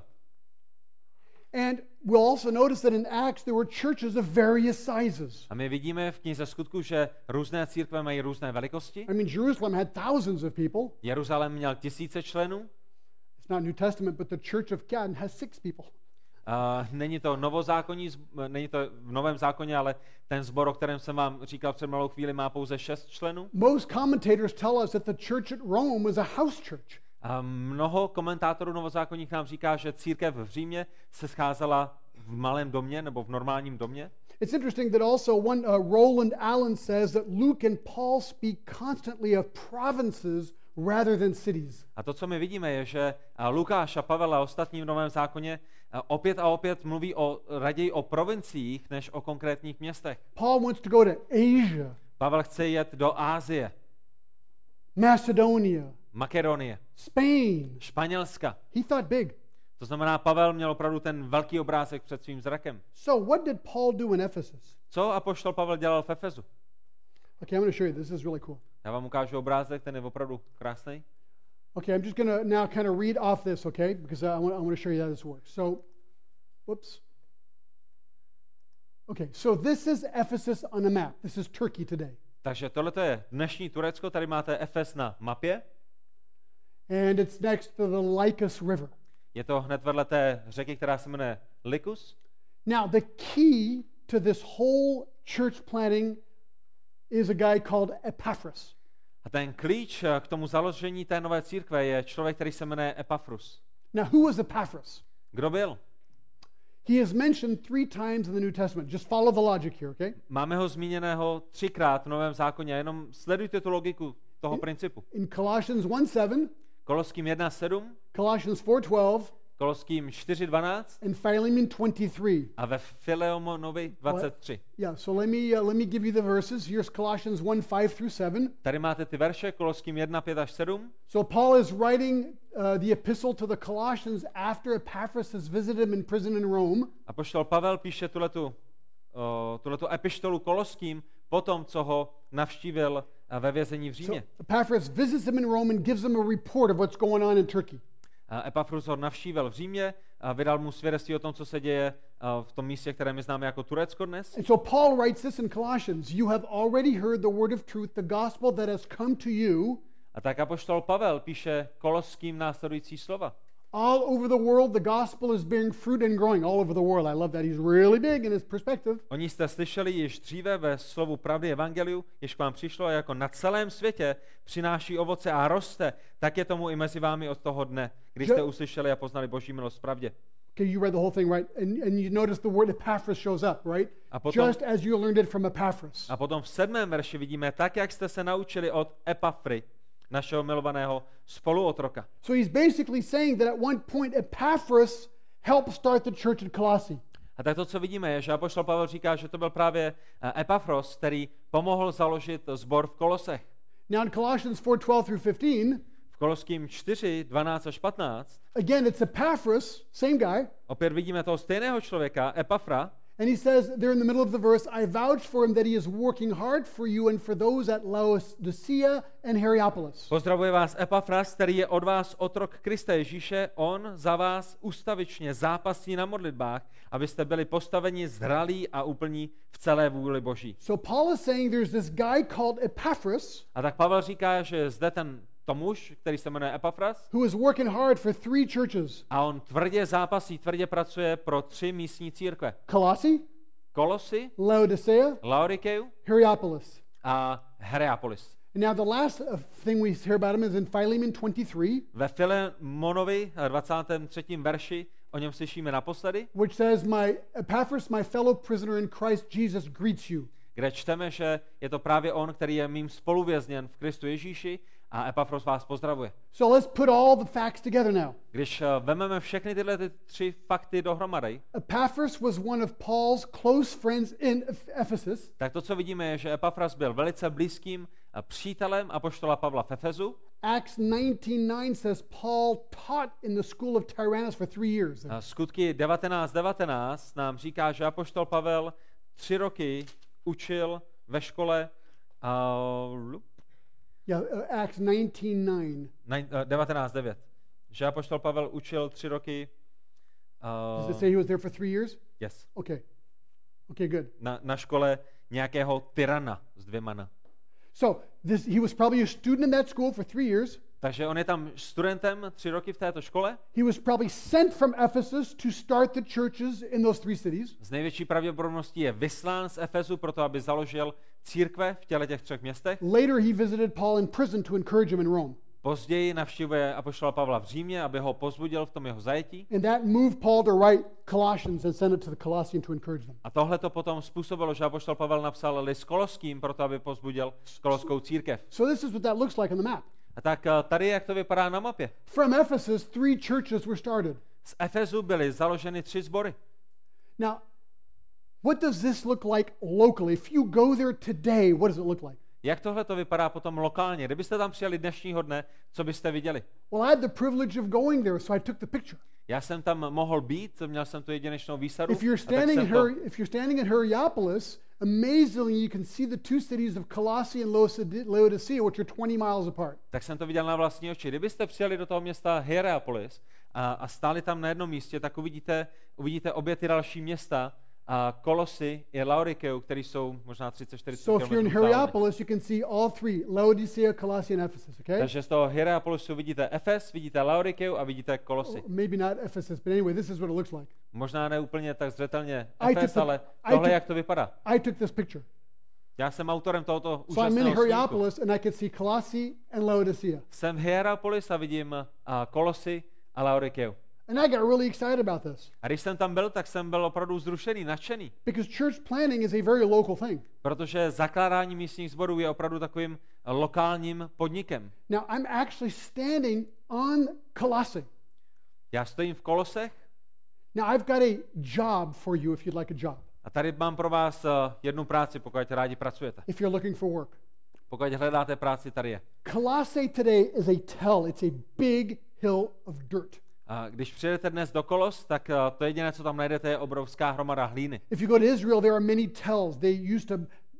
And we'll also notice that in Acts there were churches of various sizes. A my vidíme v knize Skutku, že různé církve mají různé velikosti. I mean, Jerusalem had thousands of people. Jeruzalém měl 1000 členů. It's not New Testament, but the Church of Canaan has 6 people. Není to není to v Novém zákoně, ale ten sbor, o kterém jsem vám říkal před malou chvíli, má pouze 6 členů. Most commentators tell us that the church at Rome was a house church. A mnoho komentátorů novozákonních nám říká, že církev v Římě se scházela v malém domě nebo v normálním domě. It's interesting that also Roland Allen says that Luke and Paul speak constantly of provinces rather than cities. A to, co my vidíme, je, že Lukáš a Pavel a ostatní v Novém zákoně opět a opět mluví raději o provinciích, než o konkrétních městech. Paul wants to go to Asia, Pavel chce jet do Ázie, Macedonia, Makedonie, Spain. Španělska. He thought big. To znamená, Pavel měl opravdu ten velký obrázek před svým zrakem. So what did Paul do in Ephesus? Co apoštol Pavel dělal v Efezu? Okay, I'm going to show you. This is really cool. Já vám ukážu obrázek, ten je opravdu krásný. Okay, I'm just going to now kind of read off this, okay? Because I want to show you how this works. So, whoops. Okay, so this is Ephesus on a map. This is Turkey today. Takže tohle je dnešní Turecko, tady máte Efes na mapě. And it's next to the Lycus River. Je to hned vedle té řeky, která se jmenuje Lycus. Now, the key to this whole church planting is a guy called Epaphras. A ten klíč k tomu založení té nové církve je člověk, který se jmenuje Epafrus. Now, who was Epaphras? Kdo byl? He is mentioned 3 times in the New Testament. Just follow the logic here, okay? Máme ho zmíněného 3krát v Novém zákoně, jenom sledujte tu logiku toho principu. In Colossians 1:7, Koloským 1:7, Colossians 4:12, Koloským 4:12 and Philemon 23. a ve Filemonovi 23. Yeah, so let me give you the verses. Here's Colossians 1:5 through 7. Tady máte ty verše, Koloským 1:5 až 7. So Paul is writing the epistle to the Colossians after Epaphras has visited him in prison in Rome. Apoštol Pavel píše tuhletu epištolu Koloským po tom, co ho navštívil ve vězení v So Římě. Epaphras visits him in Rome and gives him a report of what's going on in Turkey. Epafrus ho navštívil v Římě a vydal mu svědectví o tom, co se děje v tom místě, které my známe jako Turecko dnes. And so Paul writes this in Colossians, you have already heard the word of truth, the gospel that has come to you. A tak apoštol Pavel píše Koloským následující slova. All over the world, the gospel is bearing fruit and growing. All over the world. I love that. He's really big in his perspective. Oni jste slyšeli již dříve ve slovu pravdy evangeliu, jež k vám přišlo a jako na celém světě přináší ovoce a roste, tak je tomu i mezi vámi od toho dne, když jste uslyšeli a poznali Boží milost v pravdě. Okay, you read the whole thing, right? And you notice the word Epaphras shows up, right? A potom, Just as you learned it from Epaphras. a potom v 7. verši vidíme, tak jak jste se naučili od Epafry, našeho milovaného spoluotroka. So he's basically saying that at one point Epaphras helped start the church at Colossae. A tak to, co vidíme, je, že apoštol Pavel říká, že to byl právě Epafros, který pomohl založit sbor v Kolosech. Now in Colossians 4:12 through 15, V Koloským 4, 12 až 15, again it's Epaphras, same guy, opět vidíme toho stejného člověka, Epafra, and he says there in the middle of the verse, I vouch for him that he is working hard for you and for those at Laodicea and Hierapolis. Pozdravuje vás Epafras, který je od vás otrok Krista Ježíše, on za vás ustavičně zápasí na modlitbách, abyste byli postaveni zralí a úplní v celé vůli Boží. So Paul is saying there's this guy called Epaphras A tak Pavel říká, že zde to muž, který se jmenuje Epafras, who is working hard for 3 churches. a on tvrdě zápasí, tvrdě pracuje pro 3 místní církve. Colossae, Kolosy, Laodicea, Laodikeu Hierapolis. a Hierapolis. And now the last thing we hear about him is in Philemon 23, Ve Filemonovi 23. verši o něm slyšíme naposledy, which says, my Epaphras, my fellow prisoner in Christ Jesus, greets you. kde čteme, že je to právě on, který je mým spoluvězněn v Kristu Ježíši a Epafros vás pozdravuje. So let's put all the facts together now. Když vememe všechny tyhle 3 fakty dohromady, Epaphras was one of Paul's close friends in Ephesus. tak to, co vidíme, je, že Epafras byl velice blízkým přítelem apoštola Pavla v Efezu. Acts 19:9 says Paul taught in the school of Tyrannus for 3 years. Skutky 19:19 nám říká, že apoštol Pavel 3 roky učil ve škole Acts 19:9. 19:9. Že apoštol Pavel učil 3 roky. Does it say he was there for 3 years? Yes. Okay. Okay, good. Na škole nějakého tyrana s 2 na. So he was probably a student in that school for 3 years. Takže on je tam studentem 3 roky v této škole. He was probably sent from Ephesus to start the churches in those 3 cities. Z největší pravděpodobností je vyslán z Efezu proto, aby založil církve v těch 3 městech. Later he visited Paul in prison to encourage him in Rome. Později navštěvuje apoštola Pavla v Římě, aby ho pozbudil v tom jeho zajetí. And that moved Paul to write Colossians and send it to the Colossians to encourage them. A tohle to potom způsobilo, že apoštol Pavel napsal list Koloským proto, aby pozbudil koloskou církev. So this is what that looks like on the map. A tak tady, jak to vypadá na mapě. From Ephesus, 3 churches were started. Z Efezu byly založeny 3 sbory. Now, what does this look like locally? If you go there today, what does it look like? Jak tohle to vypadá potom lokálně? Kdybyste tam přijeli dnešního dne, co byste viděli? Well, I had the privilege of going there, so I took the picture. Já jsem tam mohl být, měl jsem tu jedinečnou výsadu. If you're standing in Hierapolis, amazingly you can see the 2 cities of Colossae and Laodicea, which are 20 miles apart. Tak jsem to viděl na vlastní oči. Kdybyste přijeli do toho města Hierapolis a stáli tam na jednom místě, tak uvidíte obě ty další města, Kolosy i Laodikeu, které jsou možná 30-40 So if you're in Hierapolis, you can see all 3, Laodicea, Colossae, and Ephesus, okay? Takže z toho Hierapolisu vidíte Efes, vidíte Laodikeu a vidíte Kolosy. Maybe not Ephesus, but anyway, this is what it looks like. Možná ne úplně tak zřetelně I Efes, took the- ale I tohle took- jak to vypadá. I took this picture. Já jsem autorem tohoto So I'm in úžasného snímku. Hierapolis, and I could see Colossae and Laodicea. Jsem v Hierapolis a vidím Kolosy a Laodikeu. And I got really excited about this A když jsem tam byl, tak jsem byl opravdu vzrušený, nadšený, because church planting is a very local thing. protože zakládání místních sborů je opravdu takovým lokálním podnikem. Now, I'm actually standing on Colossae. Já stojím v Kolosech Now, I've got a job for you if you'd like a job, a tady mám pro vás jednu práci, pokud rádi pracujete. if you're looking for work. Pokud hledáte práci, tady je. Colossae today is a tell. It's a big hill of dirt. A když přijedete dnes do Kolos, tak to jediné, co tam najdete, je obrovská hromada hlíny. If you go to Israel, there are many tells. They used to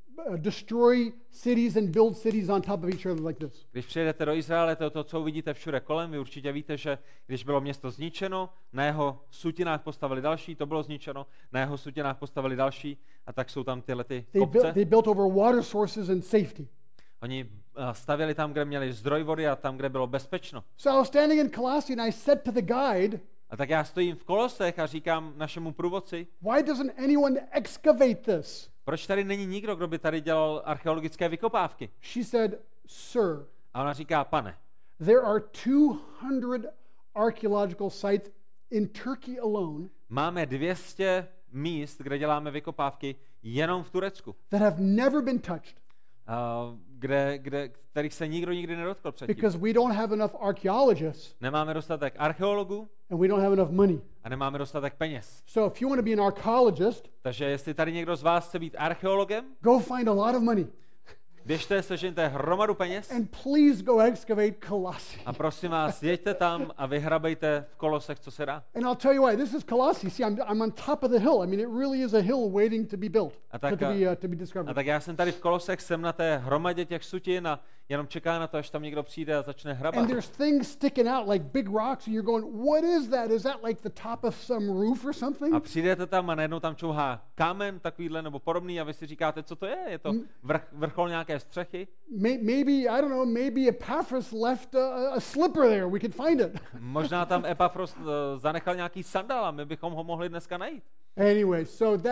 destroy cities and build cities on top of each other like this. Když přijedete do Izraele, to je to, co uvidíte všude kolem. Vy určitě víte, že když bylo město zničeno, na jeho sutinách postavili další, to bylo zničeno, na jeho sutinách postavili další, a tak jsou tam tyhle ty kopce. They built over water sources and safety. Oni stavěli tam, kde měli zdroj vody a tam, kde bylo bezpečno. So I was standing in Colossae and I said to the guide, A tak já stojím v Kolosech a říkám našemu průvodci, why doesn't anyone excavate this? proč tady není nikdo, kdo by tady dělal archeologické vykopávky? She said, sir, A ona říká, pane, there are 200 archaeological sites in Turkey alone máme 200 míst, kde děláme vykopávky jenom v Turecku, that have never been touched kterých se nikdo nikdy nedotkl předtím. because we don't have enough archaeologists Nemáme dostatek archeologů and we don't have enough money. a nemáme dostatek peněz. So if you want to be an archaeologist, Takže jestli tady někdo z vás chce být archeologem, go find a lot of money běžte, sežeňte hromadu peněz and please go excavate Colossae. a prosím vás, jeďte tam a vyhrabejte v Kolosech, co se dá. And I'll tell you why. This is Colossae. See, I'm on top of the hill. I mean, it really is a hill waiting to be built, A tak, to be discovered. A tak já jsem tady v Kolosech, jsem na té hromadě těch sutin a jenom čeká na to, až tam někdo přijde a začne hrabat. And there's things sticking out like big rocks, and you're going, what is that? Is that like the top of some roof or something? A přijdete tam a najednou tam čouhá kámen takovýhle nebo podobný a vy si říkáte, co to je? Je to vrchol nějaké střechy? Maybe, I don't know, maybe Epaphras left a slipper there. We could find it. Možná tam Epafros zanechal nějaký sandál a my bychom ho mohli dneska najít. Anyway, so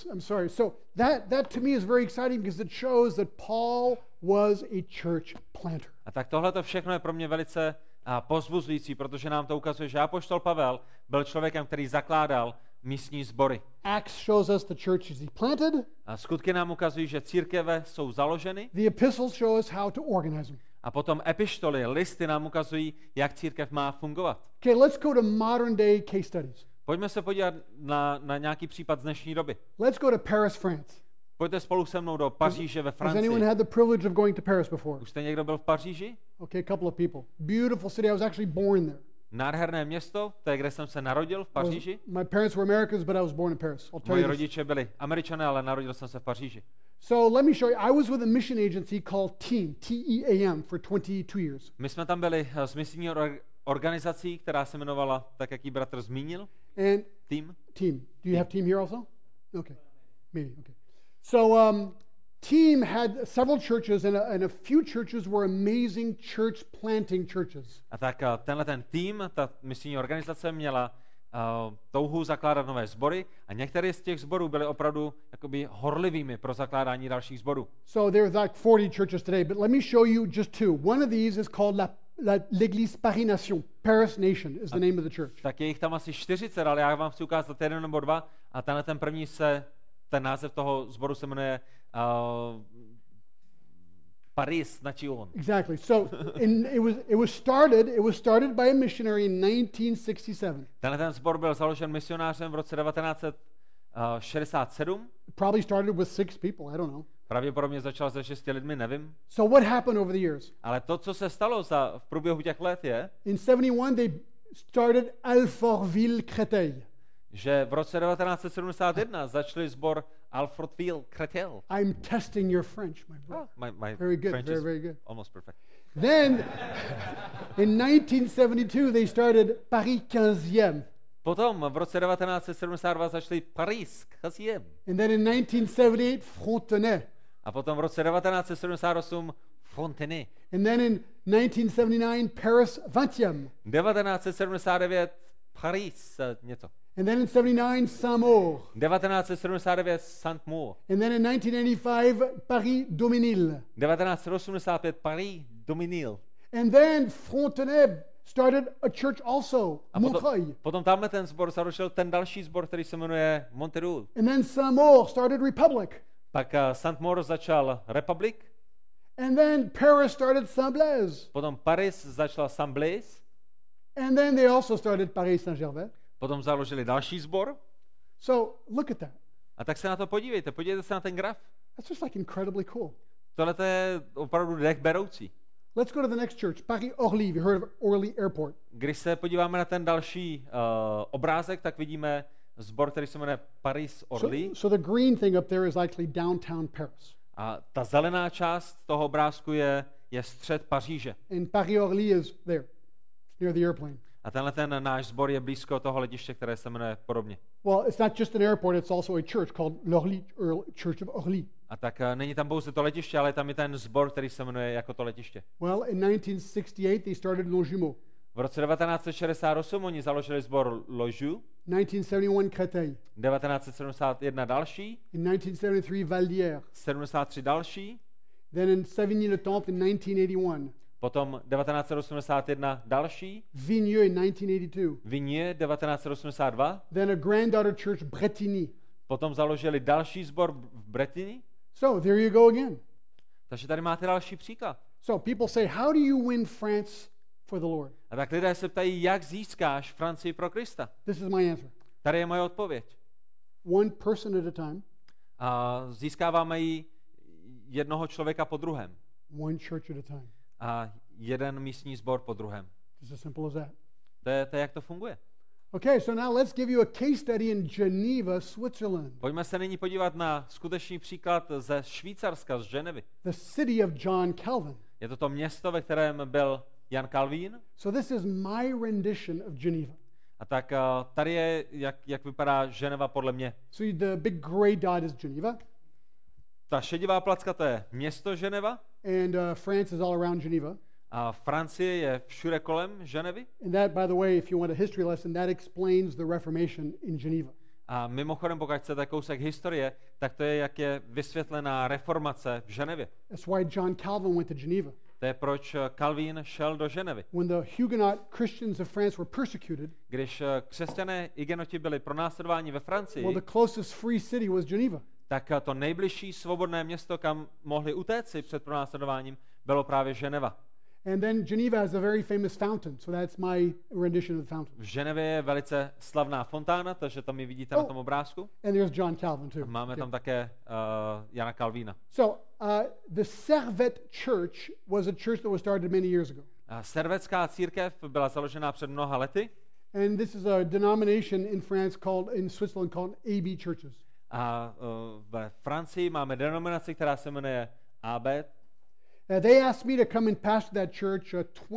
that to me is very exciting because it shows that Paul was a church planter. A tak tohle to všechno je pro mě velice povzbuzující, protože nám to ukazuje, že apoštol Pavel byl člověkem, který zakládal místní sbory. Acts shows us the churches he planted. A skutky nám ukazují, že církve jsou založeny. The epistles show us how to organize them. A potom epištoly, listy nám ukazují, jak církev má fungovat. Okay, let's go to modern day case studies. Pojďme se podívat na nějaký případ z dnešní doby. Let's go to Paris, France. Pojďte spolu se mnou do Paříže ve Has anyone Francii. had the privilege of going to Paris before? Už jste někdo byl v Paříži? Okay, a couple of people. Beautiful city. I was actually born there. Nádherné město, to je, kde jsem se narodil, v Paříži. My parents were Americans, but I was born in Paris. I'll tell Moji you this. rodiče byli Američané, ale narodil jsem se v Paříži. So let me show you. I was with a mission agency called TEAM, T-E-A-M, for 22 years. My jsme tam byli s misijní organizací, která se jmenovala, tak jak ji bratr zmínil, And Team. TEAM. Do you have TEAM here also? Okay, maybe. Okay. So TEAM had several churches, and a few churches were amazing church planting churches. A tak tenhle ten tým, ta misijní organizace měla touhu zakládat nové sbory a některé z těch sborů byly opravdu jakoby horlivými pro zakládání dalších sborů. So there's like 40 churches today, but let me show you just two. One of these is called l'Église Paris Nation. Paris Nation is the name of the church. Tak je jich tam asi 40, ale já vám chci ukázat jeden nebo dva a tenhle ten první ten název toho sboru se jmenuje Paris Nation. Exactly. So it was started by a missionary in 1967. Ten sbor byl založen misionářem v roce 1967. Probably started with 6 people. I don't know. Pravděpodobně začal se 6 lidmi, nevím. So what happened over the years? Ale to, co se stalo v průběhu těch let, je, In 71 they started Alfortville-Créteil. že v roce 1971 začali sbor Alfortville-Créteil. I'm testing your French, my brother. My Very good, French very, is very good. almost perfect. Then in 1972 they started Paris 15e. Potom v roce 1972 začali Paris 15. And then in 1978 Frontenay. A potom v roce 1978 Fontenay. And then in 1979 Paris 20e. 1979 Paris něco. And then in 79 Saint-Maur. 1979 Saint-Maur. And then in 1985 Paris Dominil. 1985 Paris Dominil. And then Frontenay started a church also, A Montreuil. potom tamhle ten sbor založil ten další sbor, který se jmenuje Monterul. And then Saint-Maur started Republic. Pak Saint-Maur začal Republic, And then Paris started Saint-Blaise. potom Paris začal Saint-Blaise, And then they also started Paris Saint-Gervais. potom založili další sbor. So look at that. A tak se na to podívejte se na ten graf. That's just like incredibly cool. Tohle je opravdu dech beroucí. Let's go to the next church, Paris Orly. You heard of Orly Airport. Když se podíváme na ten další obrázek, tak vidíme sbor, který se jmenuje Paris Orly. So the green thing up there is actually downtown Paris. A ta zelená část toho obrázku je střed Paříže. And Paris Orly is there, near the airplane. A tenhle ten náš sbor je blízko toho letiště, které se jmenuje podobně. Well, it's not just an airport, it's also a church called l'Orly, or Church of Orly. A tak není tam pouze to letiště, ale tam je ten sbor, který se jmenuje jako to letiště. Well, in 1968, they started Longjumeau. V roce 1968 oni založili sbor Loju, 1971, Créteil. 1971 další, In 1973, Valdière. 73 další, Then in Savigny-le-Temple in 1981. potom 1981 další, Vigneux in 1982. Vigne 1982, Then a granddaughter church, Bretigny. potom založili další sbor v Bretigny. So there you go again. Takže tady máte další příklad. So people say, how do you win France for the Lord? A tak lidé se ptají, jak získáš Francii pro Krista. This is my answer. Tady je moje odpověď. One person at a time, A získáváme ji jednoho člověka po druhém. one church at a time. A jeden místní sbor po druhém. It's as simple as that. To je jak to funguje. Okay, so now let's give you a case study in Geneva, Switzerland. Pojďme se nyní podívat na skutečný příklad ze Švýcarska, z Ženevy. The city of John Calvin. Je to město, ve kterém byl Jan Calvin. So this is my rendition of Geneva. A tak tady je, jak vypadá Ženeva podle mě. So the big gray dot is Geneva, Ta šedivá placka, to je město Ženeva. and France is all around Geneva. A Francie je všude kolem Ženevy. And that, by the way, if you want a history lesson, that explains the Reformation in Geneva. A mimochodem, pokud chcete kousek historie, tak to je, jak je vysvětlená reformace v Ženevě. That's why John Calvin went to Geneva. To je proč Calvin šel do Ženevy. When the Huguenot Christians of France were persecuted, Když křesťané Hugenoti byli pronásledováni ve Francii, well, the closest free city was Geneva. tak to nejbližší svobodné město, kam mohli utéci před pronásledováním, bylo právě Ženeva. And then Geneva has a very famous fountain, so that's my rendition of the fountain. V Ženevě je velice slavná fontána, takže tam ji vidíte na tom obrázku. And there's John Calvin too. Máme tam také Jana Calvína. So the Servet Church was a church that was started many years ago. Servetská církev byla založena před mnoha lety And this is a denomination in Switzerland called AB churches. a ve Francii máme denominaci, která se jmenuje AB. They asked me to come and pastor that church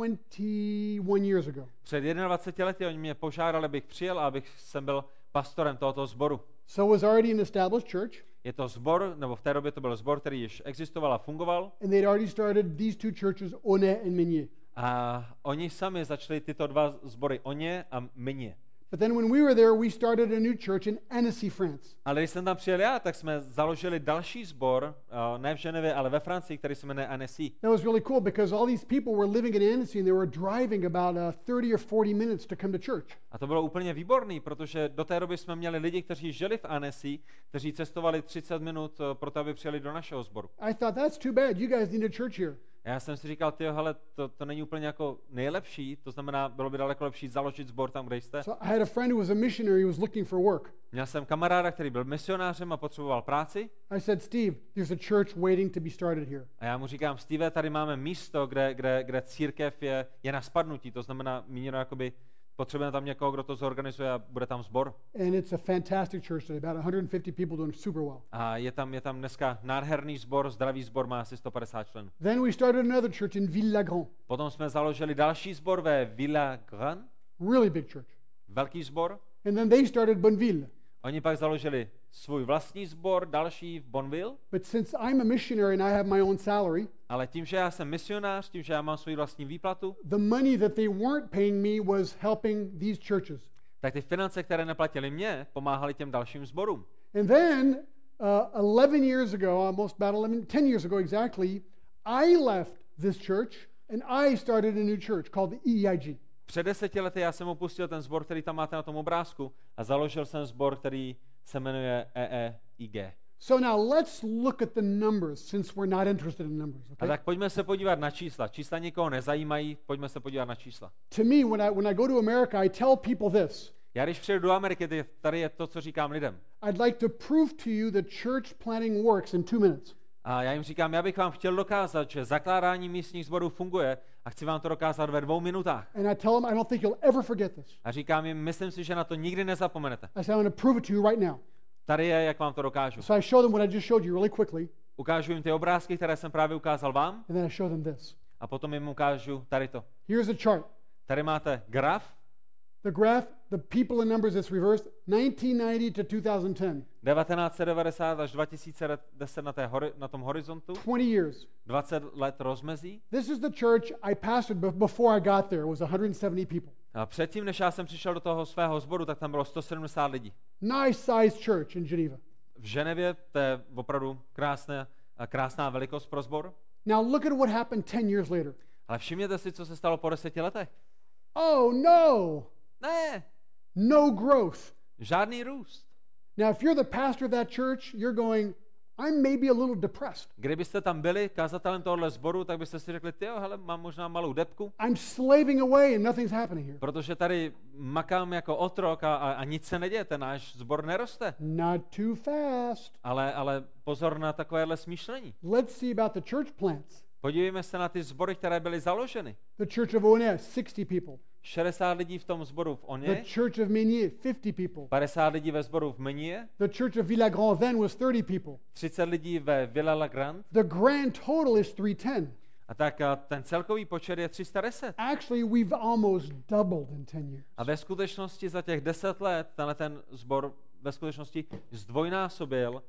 21 years ago. Před 21 lety oni mě požádali, abych přijel a abych jsem byl pastorem tohoto sboru. So it was already an established church, Je to sbor, nebo v té době to byl sbor, který již existoval a fungoval. and they'd already started these two churches, Onet and Meunier. A oni sami začali tyto dva sbory, Oně a Meunier. But then when we were there, we started a new church in Annecy, France. Ale když jsem tam přijel já, tak jsme založili další sbor, ne v Ženevě, ale ve Francii, který se jmenuje Annecy. That was really cool because all these people were living in Annecy and they were driving about 30 or 40 minutes to come to church. A to bylo úplně výborný, protože do té doby jsme měli lidi, kteří žili v Annecy, kteří cestovali 30 minut proto, aby přijeli do našeho sboru. I thought, that's too bad. You guys need a church here. Já jsem si říkal, hele, to není úplně jako nejlepší, to znamená, bylo by daleko lepší založit sbor tam, kde jste. So I had a friend who was a missionary who was looking for work. Měl jsem kamaráda, který byl misionářem a potřeboval práci. I said, Steve, there's a church waiting to be started here. A já mu říkám, Steve, tady máme místo, kde církev je na spadnutí, to znamená míněno jakoby potřebujeme tam někoho, kdo to zorganizuje a bude tam sbor. And it's a fantastic church today, about 150 people doing super well. A je tam dneska nádherný sbor, zdravý sbor, má asi 150 členů. Then we started another church in Ville-la-Grande. Potom jsme založili další sbor ve Ville-la-Grande, Really big church. velký sbor. And then they started Bonneville. Oni pak založili svůj vlastní sbor, další v Bonneville. But since I'm a missionary and I have my own salary, Ale tím, že já jsem misionář, tím, že já mám svou vlastní výplatu, the money that they weren't paying me was helping these churches. tak ty finance, které neplatili mě, pomáhaly těm dalším sborům. And then 11 years ago, almost about 10 years ago exactly, I left this church and I started a new church called the EEIG. Před 10 lety já jsem opustil ten sbor, který tam máte na tom obrázku, a založil jsem sbor, který se jmenuje EEIG. So now let's look at the numbers since we're not interested in numbers. A Okay? tak pojďme se podívat na čísla. Čísla nikoho nezajímají, pojďme se podívat na čísla. To me, when I go to America, I tell people this. Já když přijedu do Ameriky, tady je to, co říkám lidem. I'd like to prove to you that church planting works in 2 minutes. A já jim říkám, já bych vám chtěl dokázat, že zakládání místních sborů funguje a chci vám to dokázat ve 2 minutách. And I tell them, I don't think you'll ever forget this. A říkám jim, myslím si, že na to nikdy nezapomenete. I say, I'm going to prove it to you right now. Tady je, jak vám to dokážu. So I show them what I just showed you really quickly, Ukážu jim ty obrázky, které jsem právě ukázal vám, and then I show them this. a potom jim ukážu tady to. Here's a chart. Tady máte graf. The graph, the people and numbers, it's reversed, 1990 to 2010. 1990 až 2010 na tom horizontu, 20 years. 20 let rozmezí. This is the church I pastored before I got there. It was 170 people. A předtím, než já jsem přišel do toho svého sboru, tak tam bylo 170 lidí. Nice sized church in Geneva. V Ženevě to je opravdu krásná velikost pro sbor. Now look at what happened 10 years later. Ale všimněte si, co se stalo po 10 letech. Oh no! Ne, No growth. žádný růst. Now, if you're the pastor of that church, you're going, I'm maybe a little depressed. Kdybyste tam byli kazatelem tohohle sboru, tak byste si řekli, tyjo, hele, mám možná malou depku, I'm slaving away and nothing's happening here. protože tady makám jako otrok a nic se neděje, ten náš sbor neroste. Not too fast. Ale pozor na takovéhle smýšlení. Let's see about the church plants. Podívejme se na ty sbory, které byly založeny. The Church of Onés, 60 people. 60 lidí v tom sboru v The Oně, Church of Meunier, 50 people. 50 lidí ve sboru v Menie, The Church of Ville-la-Grande then was 30 people. 30 lidí ve Ville-la-Grande, The grand total is 310. a tak ten celkový počet je 310. Actually, we've almost doubled in 10 years. A ve skutečnosti za těch 10 let ten sbor ve skutečnosti zdvojnásobil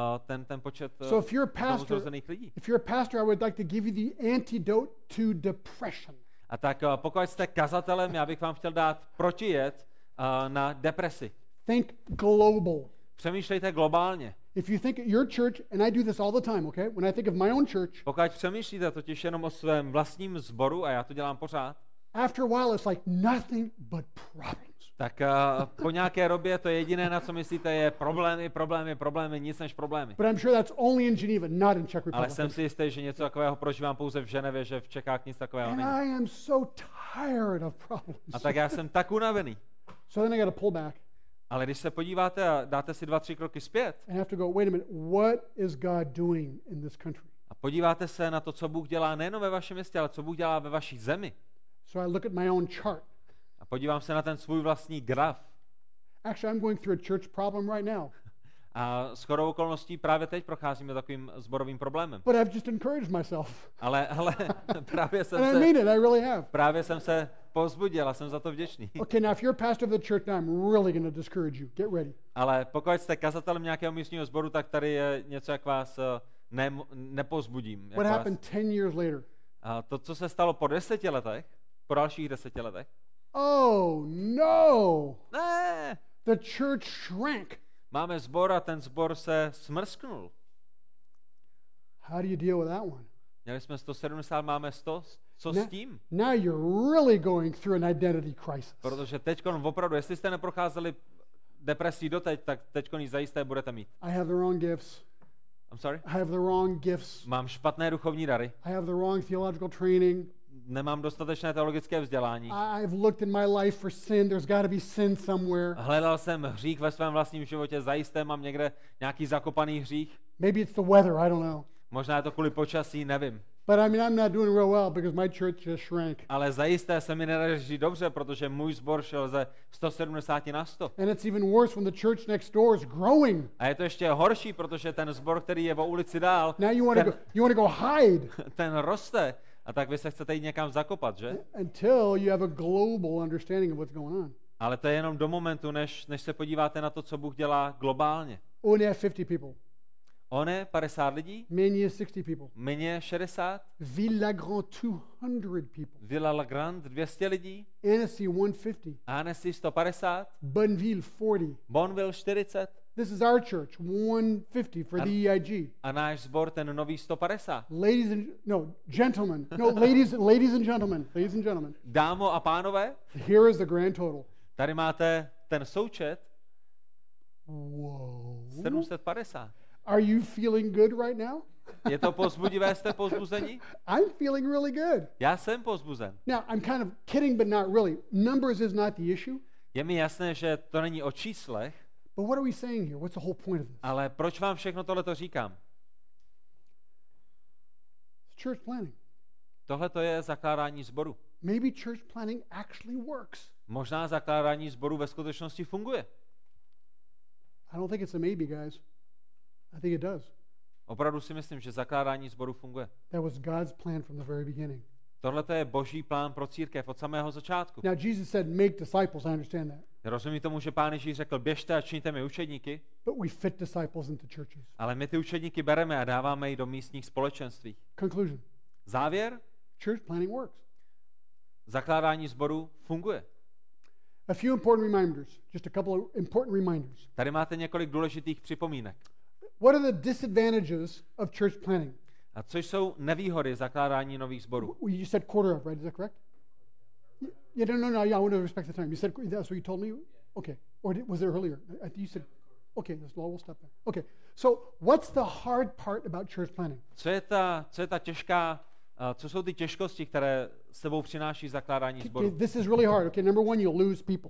ten počet So if you're a pastor, znovuzrozených lidí. if you're a pastor, I would like to give you the antidote to depression. A tak pokud jste kazatelem, já bych vám chtěl dát protijed na depresi. Think global. Přemýšlejte globálně. If you think at your church, and I do this all the time, okay? When I think of my own church, Pokud přemýšlíte totiž jenom o svém vlastním sboru, a já to dělám pořád, after a while it's like nothing but problems. tak po nějaké době to jediné, na co myslíte, je problémy, nic než problémy. But I'm sure that's only in Geneva, not in Czech Ale Republic. jsem si jistý, že něco takového prožívám pouze v Ženevě, že v Čechách nic takového And není. I am so tired of problems. A tak já jsem tak unavený. So then I got to pull back Ale když se podíváte a dáte si 2-3 kroky zpět and have to go, wait a minute, what is God doing in this country? a podíváte se na to, co Bůh dělá nejen ve vašem městě, ale co Bůh dělá ve vaší zemi, So I look at my own chart. a podívám se na ten svůj vlastní graf, Actually, I'm going through a church problem right now. a shodou okolností právě teď procházíme takovým sborovým problémem. But I've just encouraged myself. Ale And I mean it, I really have. právě jsem se povzbudil a jsem za to vděčný. Okay, now if you're a pastor of the church, now I'm really going to discourage you. Get ready. Ale pokud jste kazatelem nějakého místního sboru, tak tady je něco, jak vás nepozbudím. What happened 10 years later? A to, co se stalo po 10 letech, po dalších 10 letech, Oh no! Ne, The church shrank. máme sbor a ten sbor se smrsknul. How do you deal with that one? Měli jsme 170, máme 100. Co Ne- s tím? Now you're really going through an identity crisis. Protože teďkon opravdu, jestli jste neprocházeli depresí doteď, tak teďkon ji zajisté budete mít. I have the wrong gifts. I'm sorry? I have the wrong gifts. Mám špatné duchovní dary, I have the wrong theological training. nemám dostatečné teologické vzdělání. I've looked in my life for sin. There's got to be sin somewhere. Hledal jsem hřích ve svém vlastním životě, zajisté mám někde nějaký zakopaný hřích. Maybe it's the weather. I don't know. Možná je to kvůli počasí, nevím. But I mean, I'm not doing real well because my church just shrank. Ale zajisté se mi nedaří dobře, protože můj sbor šel ze 170 na 100. And it's even worse when the church next door is growing. A je to ještě horší, protože ten sbor, který je o ulici dál, Now you want to go hide ten roste. A tak vy se chcete jít někam zakopat, že? until you have a global understanding of what's going on. Ale to je jenom do momentu, než se podíváte na to, co Bůh dělá globálně. Only have 50 people. On je 50 lidí, Many is 60 people. Mně 60, Villagrand 200 people. Villa La Grande 200 lidí, Annecy 150. Annecy 150, Bonneville 40. Bonville 40 This is our church 150 for the EIG. a náš sbor ten nový 150. Gentlemen. No, ladies and gentlemen. Dámo a pánové, Here is the grand total. tady máte ten součet Whoa. 750. Are you feeling good right now? Je to povzbudivé, jste povzbuzení? I'm feeling really good. Já jsem povzbuzen. Now, I'm kind of kidding, but not really. Numbers is not the issue. Je mi jasné, že to není o číslech, But what are we saying here? What's the whole point of this? ale proč vám všechno tohleto říkám? It's church planning. Tohle to je zakládání sboru. Maybe church planning actually works. Možná zakládání sboru ve skutečnosti funguje. I don't think it's a maybe, guys. I think it does. Opravdu si myslím, že zakládání sboru funguje. That was God's plan from the very beginning. Tohle to je boží plán pro církev od samého začátku. Now, Jesus said, make disciples. I understand that. Rozumím tomu, že Pán Ježíš řekl, běžte a čiňte mi učedníky, But we fit disciples into churches. ale my ty učedníky bereme a dáváme je do místních společenství. Conclusion. Závěr, Church planning works. zakládání sboru funguje. A few important reminders. Just a couple of important reminders. Tady máte několik důležitých připomínek. What are the disadvantages of church planning? A co jsou nevýhody zakládání nových sborů? You said quarter of, right? Is that correct? Yeah, no. Yeah, I want to respect the time. You said that's what you told me. Okay, or was it earlier? I think you said. Okay, we'll stop there. Okay, so what's the hard part about church planning? Co je ta těžká, co jsou ty těžkosti, které s sebou přináší zakládání Okay, sboru? this is really hard. Okay, number one, you'll lose people.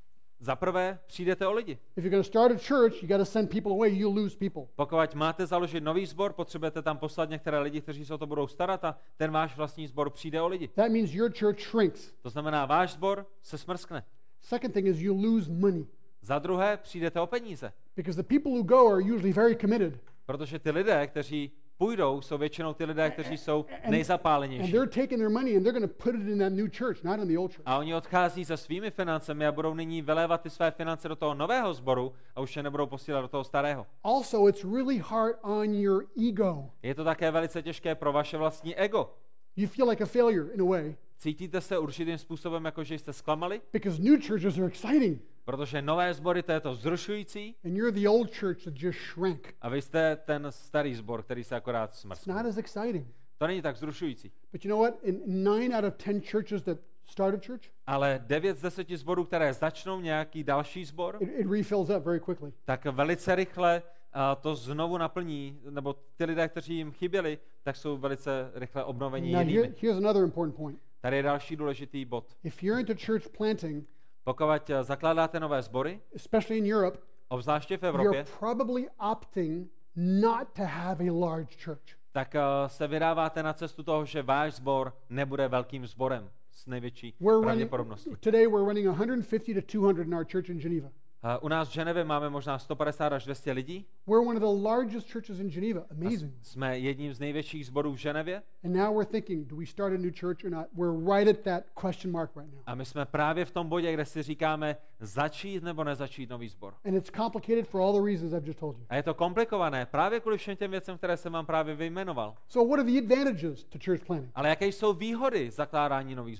Za prvé, přijdete o lidi. If you're going to start a church, you got to send people away. You'll lose people. Pokud máte založit nový sbor, potřebujete tam poslat některé lidi, kteří se o to budou starat a ten váš vlastní sbor přijde o lidi. That means your church shrinks. To znamená, váš sbor se smrskne. Second thing is you lose money Za druhé, přijdete o peníze. because the people who go are usually very committed. Protože ty lidé, kteří půjdou, jsou většinou ty lidé, kteří jsou And nejzapálenější. they're taking their money and they're going to put it in that new church, not in the old church. A oni odchází se svými financemi a budou nyní vylévat ty své finance do toho nového sboru a už je nebudou posílat do toho starého. Also, it's really hard on your ego. Je to také velice těžké pro vaše vlastní ego. You feel like a failure in a way Cítíte se určitým způsobem, jako že jste zklamali, because new churches are exciting protože nové sbory, to je to vzrušující, and you're the old church that just shrank. a vy jste ten starý sbor, který se akorát It's smrskl. not as exciting. To není tak vzrušující. But you know what? In 9 out of 10 churches that start a church, Ale 9 z 10 sborů, které začnou nějaký další sbor, it refills up very quickly. tak velice rychle to znovu naplní, nebo ty lidé, kteří jim chyběli, tak jsou velice rychle obnovení Now, jinými. here's another important point. Tady je další důležitý bod. If you're into church planting, Pokud zakládáte nové sbory, especially in Europe, obzvláště v you're Evropě, probably opting not to have a large church. tak se vydáváte na cestu toho, že váš sbor nebude velkým sborem s největší pravděpodobností. Today we're running 150 to 200 in our church in Geneva. U nás v Ženevě máme možná 150 až 200 lidí. We're one of the largest churches in Geneva. Amazing. Jsme jedním z největších sborů v Ženevě And now we're thinking, do we start a new church or not? We're right at that question mark right now. a my jsme právě v tom bodě, kde si říkáme začít nebo nezačít nový sbor. And it's complicated for all the reasons I've just told you. A je to komplikované právě kvůli všem těm věcem, které jsem vám právě vyjmenoval. So what are the advantages to church planning? Ale jaké jsou výhody zakládání nových sborů?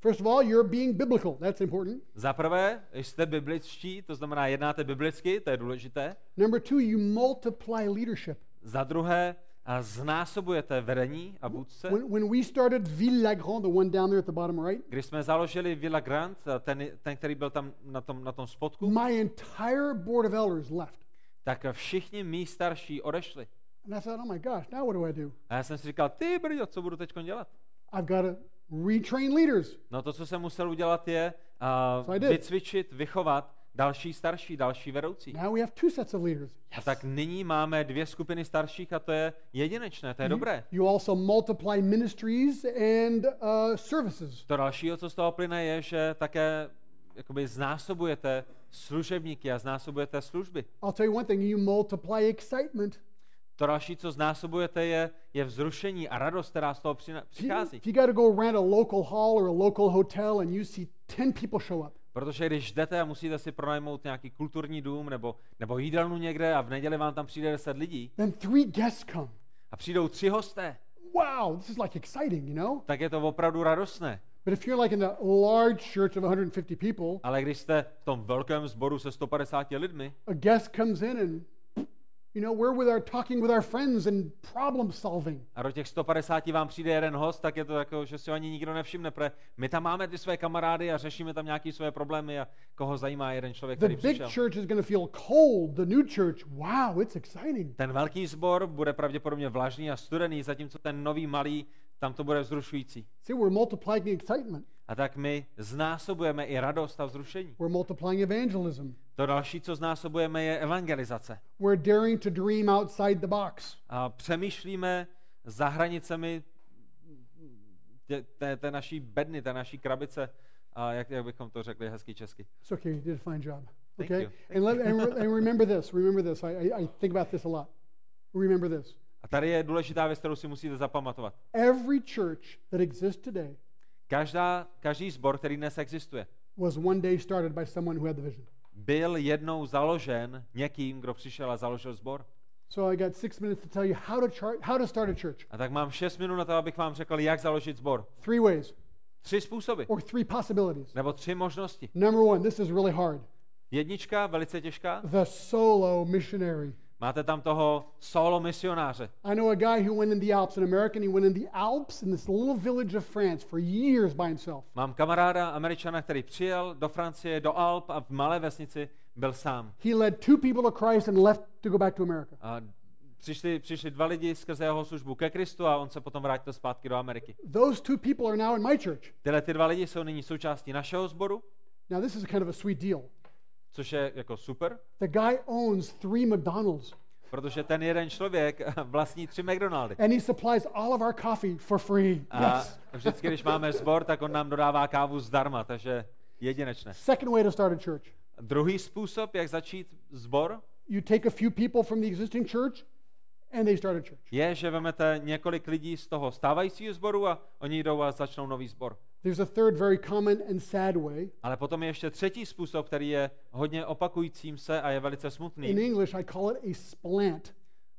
First of all, you're being biblical. That's important. Za prvé, jste bibličtí, to znamená jednáte biblicky, to je důležité. Number two, you multiply leadership. Za druhé, a znásobujete vedení a vůdce. When we started Ville-la-Grande, the one down there at the bottom right, Když jsme založili Villa Grande, ten, který byl tam na tom spodku, my entire board of elders left. tak všichni mí starší odešli. And I thought, oh my gosh, now what do I do? A já jsem si říkal, ty brďo, co budu teď dělat? I've got to retrain leaders. No to, co jsem musel udělat, je So I did. vycvičit, vychovat další starší, další vedoucí. Now we have two sets of leaders. A tak nyní máme 2 skupiny starších a to je jedinečné, to je dobré. You also multiply ministries and services. To dalšího, co z toho plyne, je, že také jakoby znásobujete služebníky a znásobujete služby. I'll tell you one thing, you multiply excitement. To další, co znásobujete, je vzrušení a radost, která z toho přichází. If you got to go rent a local hall or a local hotel and you see 10 people show up, Protože když jdete a musíte si pronajmout nějaký kulturní dům nebo jídelnu někde a v neděli vám tam přijde 10 lidí then 3 guests come. a přijdou 3 hosté, Wow, this is like exciting, you know? tak je to opravdu radostné. But if you're like in a large church of 150 people, Ale když jste v tom velkém sboru se 150 lidmi a guest comes in and, you know, we're talking with our friends and problem solving. a do těch 150 vám přijde jeden host, tak je to jako, že si ho ani nikdo nevšimne, protože my tam máme ty své kamarády a řešíme tam nějaké své problémy a koho zajímá jeden člověk, The který big přišel. church is going to feel cold. The new church, wow, it's exciting. Ten velký sbor bude pravděpodobně vlažný a studený, zatímco ten nový malý, tam to bude vzrušující. See, we're multiplying excitement. A tak my znásobujeme i radost a vzrušení. We're multiplying evangelism. To další, co znásobujeme, je evangelizace. We're daring to dream outside the box. A přemýšlíme za hranicemi té naší bedny, té naší krabice, a jak bychom to řekli hezky česky. It's okay, you did a fine job. Thank Okay? you. And remember this. Remember this. I think about this a lot. Remember this. A tady je důležitá věc, kterou si musíte zapamatovat. Every church that exists today Každý sbor, který dnes existuje, was one day started by someone who had the vision. byl jednou založen někým, kdo přišel a založil sbor. So I got 6 minutes to tell you how to start a church. A tak mám 6 minut na to, abych vám řekl, jak založit sbor. 3 ways 3 způsoby, or 3 possibilities. nebo 3 možnosti. Number 1, this is really hard. Jednička, velice těžká. The solo missionary. Máte tam toho solo misionáře. I know a guy who went in the Alps, an American. He went in the Alps in this little village of France for years by himself. Mám kamaráda Američana, který přijel do Francie, do Alp a v malé vesnici byl sám. He led 2 people to Christ and left to go back to America. A přišli 2 lidi skrze jeho službu ke Kristu a on se potom vrátil zpátky do Ameriky. Those 2 people are now in my church. Tyhle 2 lidi jsou nyní součástí našeho sboru, Now this is kind of a sweet deal. což je jako super, The guy owns 3 McDonald's protože ten jeden člověk vlastní 3 McDonaldy. and he supplies all of our coffee for free. A Yes. vždycky, když máme sbor, tak on nám dodává kávu zdarma, takže jedinečné. Second way to start a church. Druhý způsob, jak začít sbor, You take a few people from the existing church and they start a church. je, že vezmete několik lidí z toho stávajícího sboru a oni jdou a začnou nový sbor. There's a third very common and sad way. Ale potom je ještě třetí způsob, který je hodně opakujícím se a je velice In smutný. English, I call it a splant.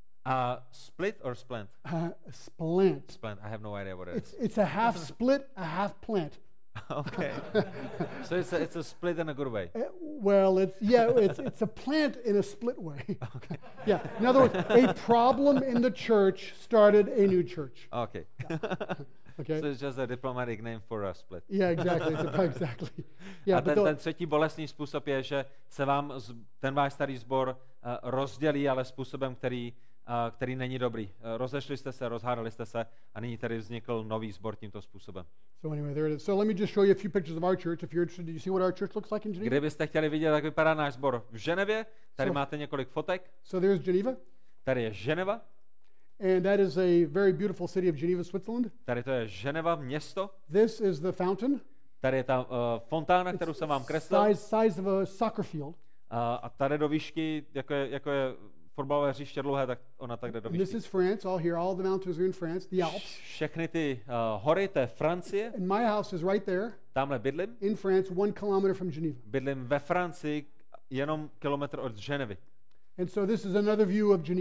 A split or splint? A splant. Splint, I have no idea what it is. It's a half split, a half plant. Okay. So it's a split in a good way. Well, it's a plant in a split way. Yeah. In other words, a problem in the church started a new church. Okay. Okay. So it's just a diplomatic name for a split. Yeah, exactly. Exactly. A Yeah, but ten třetí bolestný způsob je, že se vám ten váš starý sbor rozdělí, ale způsobem, který není dobrý. Rozešli jste se, rozhádali jste se a nyní tady vznikl nový sbor tímto způsobem. so anyway, there it is. So let me just show you a few pictures of our church. If you're interested, do you see what our church looks like in Geneva? Kdybyste chtěli vidět, jak vypadá náš sbor v Ženevě, tady So- máte několik fotek. So there's Geneva, Tady je Ženeva, and that is a very beautiful city of Geneva, Switzerland. tady to je Ženeva město, This is the fountain, tady je ta fontána, kterou jsem vám kreslil, size of a soccer field. a tady do výšky, jako je fotbalové hřiště dlouhé, tak ona tak jde do And this výšky. is France. All here, all the mountains are in France, the Alps. Všechny ty hory, to je Francie, And my house is right there tamhle bydlím. in France, 1 kilometer from Geneva. Bydlím ve Francii, jenom kilometr od Ženevy. And so this is another view of Geneva.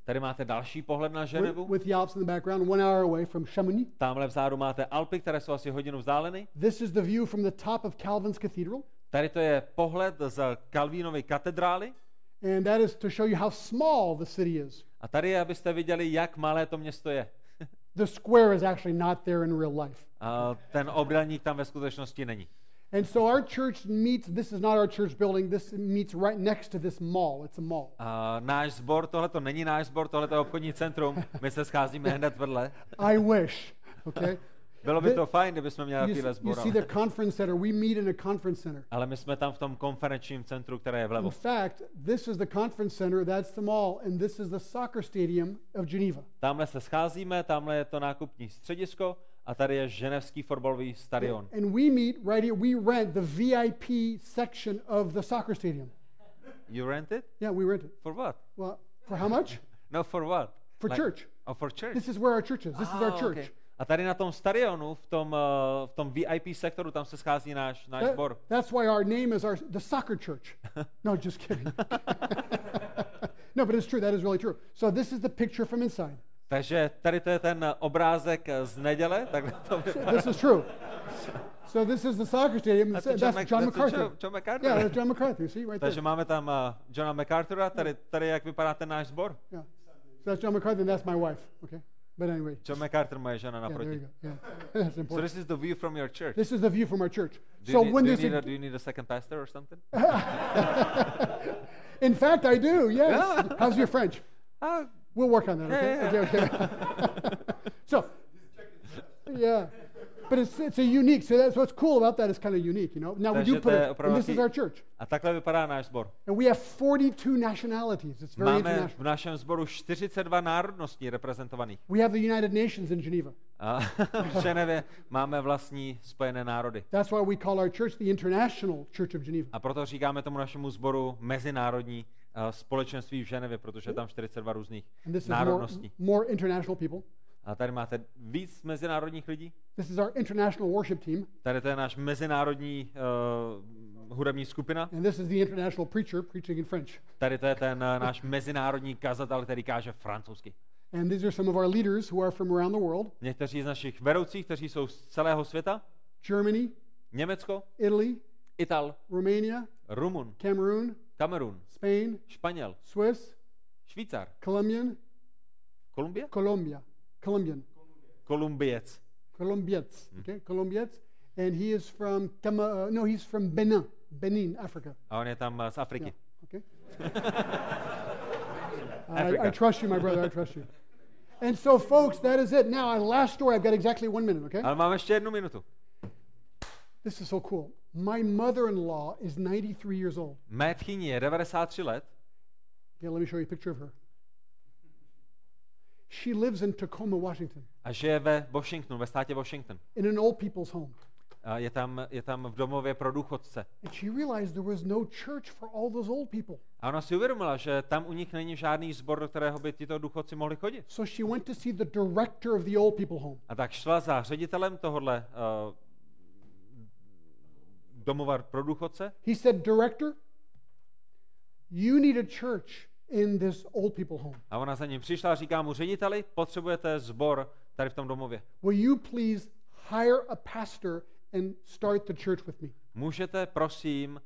Tady máte další pohled na Ženevu. with the Alps in the background, 1 hour away from Chamonix. Tamhle vzadu máte Alpy, které jsou asi hodinu vzdáleny. This is the view from the top of Calvin's Cathedral. Tady to je pohled z Kalvínovy katedrály. And that is to show you how small the city is. A tady je, abyste viděli, jak malé to město je. The square is actually not there in real life. A ten obdélník tam ve skutečnosti není. And so our church meets, this is not our church building, this meets right next to this mall. It's a mall. A náš sbor, tohle to není náš sbor, tohle je obchodní centrum. My se scházíme hned vedle. I wish, okay? Bylo by to fajn, kdybychom měli takovýhle You sbor. see the conference center, we meet in a conference center. Ale my jsme tam v tom konferenčním centru, které je vlevo. In fact, this is the conference center, that's the mall, and this is the soccer stadium of Geneva. Tamhle se scházíme, tamhle je to nákupní středisko a tady je ženevský fotbalový stadion. And we meet right here, we rent the VIP section of the soccer stadium. You rent it? Yeah, we rent it. For what? Well, for how much? No, for what? For church. Oh, for church. This is where our church is. This is our church. Okay. A tady na tom stadionu, v tom VIP sektoru, tam se schází náš sbor. That's why our name is the soccer church. No, just kidding. No, but it's true. That is really true. So this is the picture from inside. Takže tady to je ten obrázek z neděle. Tak to This is true. So this is the soccer stadium. That's John MacArthur. John MacArthur. Yeah, that's John MacArthur. See, right there. Takže máme tam Johna MacArthura, tady jak vypadá ten náš sbor. Yeah. So that's John MacArthur and that's my wife. Okay. But anyway. John MacArthur, moje žena Yeah, there you naproti. go. Yeah. That's So important. this is the view from your church. This is the view from our church. Do So you when need, there's do you need a second pastor or something? in fact, I do. Yes. Yeah. How's your French? We'll work on that. Okay. Yeah. Okay. So, yeah. But it's a unique. So that's what's cool about that. It's kind of unique, you know. Now we do Takže put to je it. opravdu And this is taky- our church, A takhle vypadá náš sbor. and we have 42 nationalities. It's very Máme international. v našem sboru 42 národností reprezentovaných. We have the United Nations in Geneva. A v Ženevě máme vlastní spojené národy. That's why we call our church the International Church of Geneva. A proto říkáme tomu našemu sboru mezinárodní společenství v Ženevě, protože je tam 42 různých And this is národností. more international people. A tady máte víc mezinárodních lidí. This is our international worship team, Tady to je náš mezinárodní hudební skupina. and this is the international preacher preaching in French. Tady to je ten náš mezinárodní kazatel, který káže francouzsky. And these are some of our leaders who are from around the world: Někteří z našich vedoucích, kteří jsou z celého světa. Germany, Německo, Italy, Ital, Romania, Rumun, Cameroon, Kamerun, Spain, Španěl, Swiss, Švýcar, Colombian, Kolumbie? Colombian, Kolumbiec. Colombiets, okay, Colombiets, and he is from he's from Benin, Africa. A on je tam z Afriky. Okay. Africa. I trust you, my brother. I trust you. And so, folks, that is it. Now, our last story. I've got exactly 1 minute. Okay. Ale máme ještě 1 minutu. This is so cool. My mother-in-law is 93 years old. Mé tchýni je 93 let Okay, let me show you a picture of her. She lives in Tacoma, Washington, a žije ve Washingtonu, ve státě Washington. in an old people's home. A je tam v domově pro důchodce. And she realized there was no church for all those old people. A ona si uvědomila, že tam u nich není žádný sbor, do kterého by tito důchodci mohli chodit. So she went to see the director of the old people home. A tak šla za ředitelem tohohle domova pro důchodce. He said, "Director, you need a church in this old people home. A ona za ním přišla a říká mu, řediteli, potřebujete sbor tady v tom domově. Will you please hire a pastor and start the church with me?" Můžete, prosím,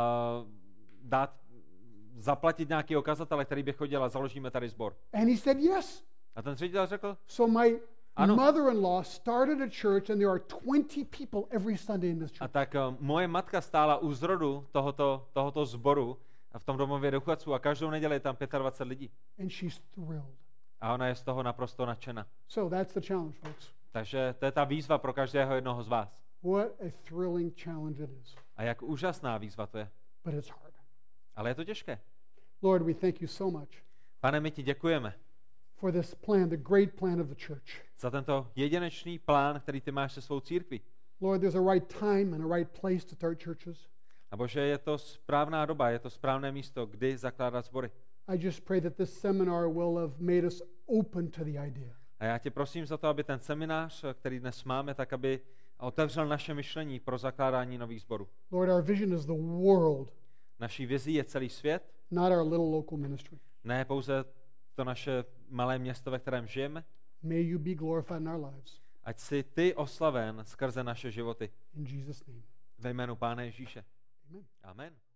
zaplatit nějaký kazatele, který by chodil a založíme tady sbor. And he said, "Yes." A ten ředitel řekl, So my Ano. mother-in-law started a church, and there are 20 people every Sunday in this a church. tak moje matka stála u zrodu tohoto sboru v tom domově důchodců a každou neděli je tam 25 lidí. And she's thrilled. A ona je z toho naprosto nadšena. So that's the challenge, folks. Takže to je ta výzva pro každého jednoho z vás. What a thrilling challenge it is. A jak úžasná výzva to je. But it's hard. Ale je to těžké. Lord, we thank you so much Pane, my ti děkujeme for this plan, the great plan of the church. za tento jedinečný plán, který ty máš se svou církví. Lord, there's a right time and a right place to start churches. A Bože, je to správná doba, je to správné místo, kdy zakládat sbory. I just pray that this seminar will have made us open to the idea. A já tě prosím za to, aby ten seminář, který dnes máme, tak aby otevřel naše myšlení pro zakládání nových sborů. Lord, our vision is the world, Naší vizí je celý svět, not our little local ministry. ne pouze to naše malé město, ve kterém žijeme. May you be glorified in our lives. Ať si ty oslaven skrze naše životy. In Jesus' name. Ve jménu Pána Ježíše. Amen. Amen.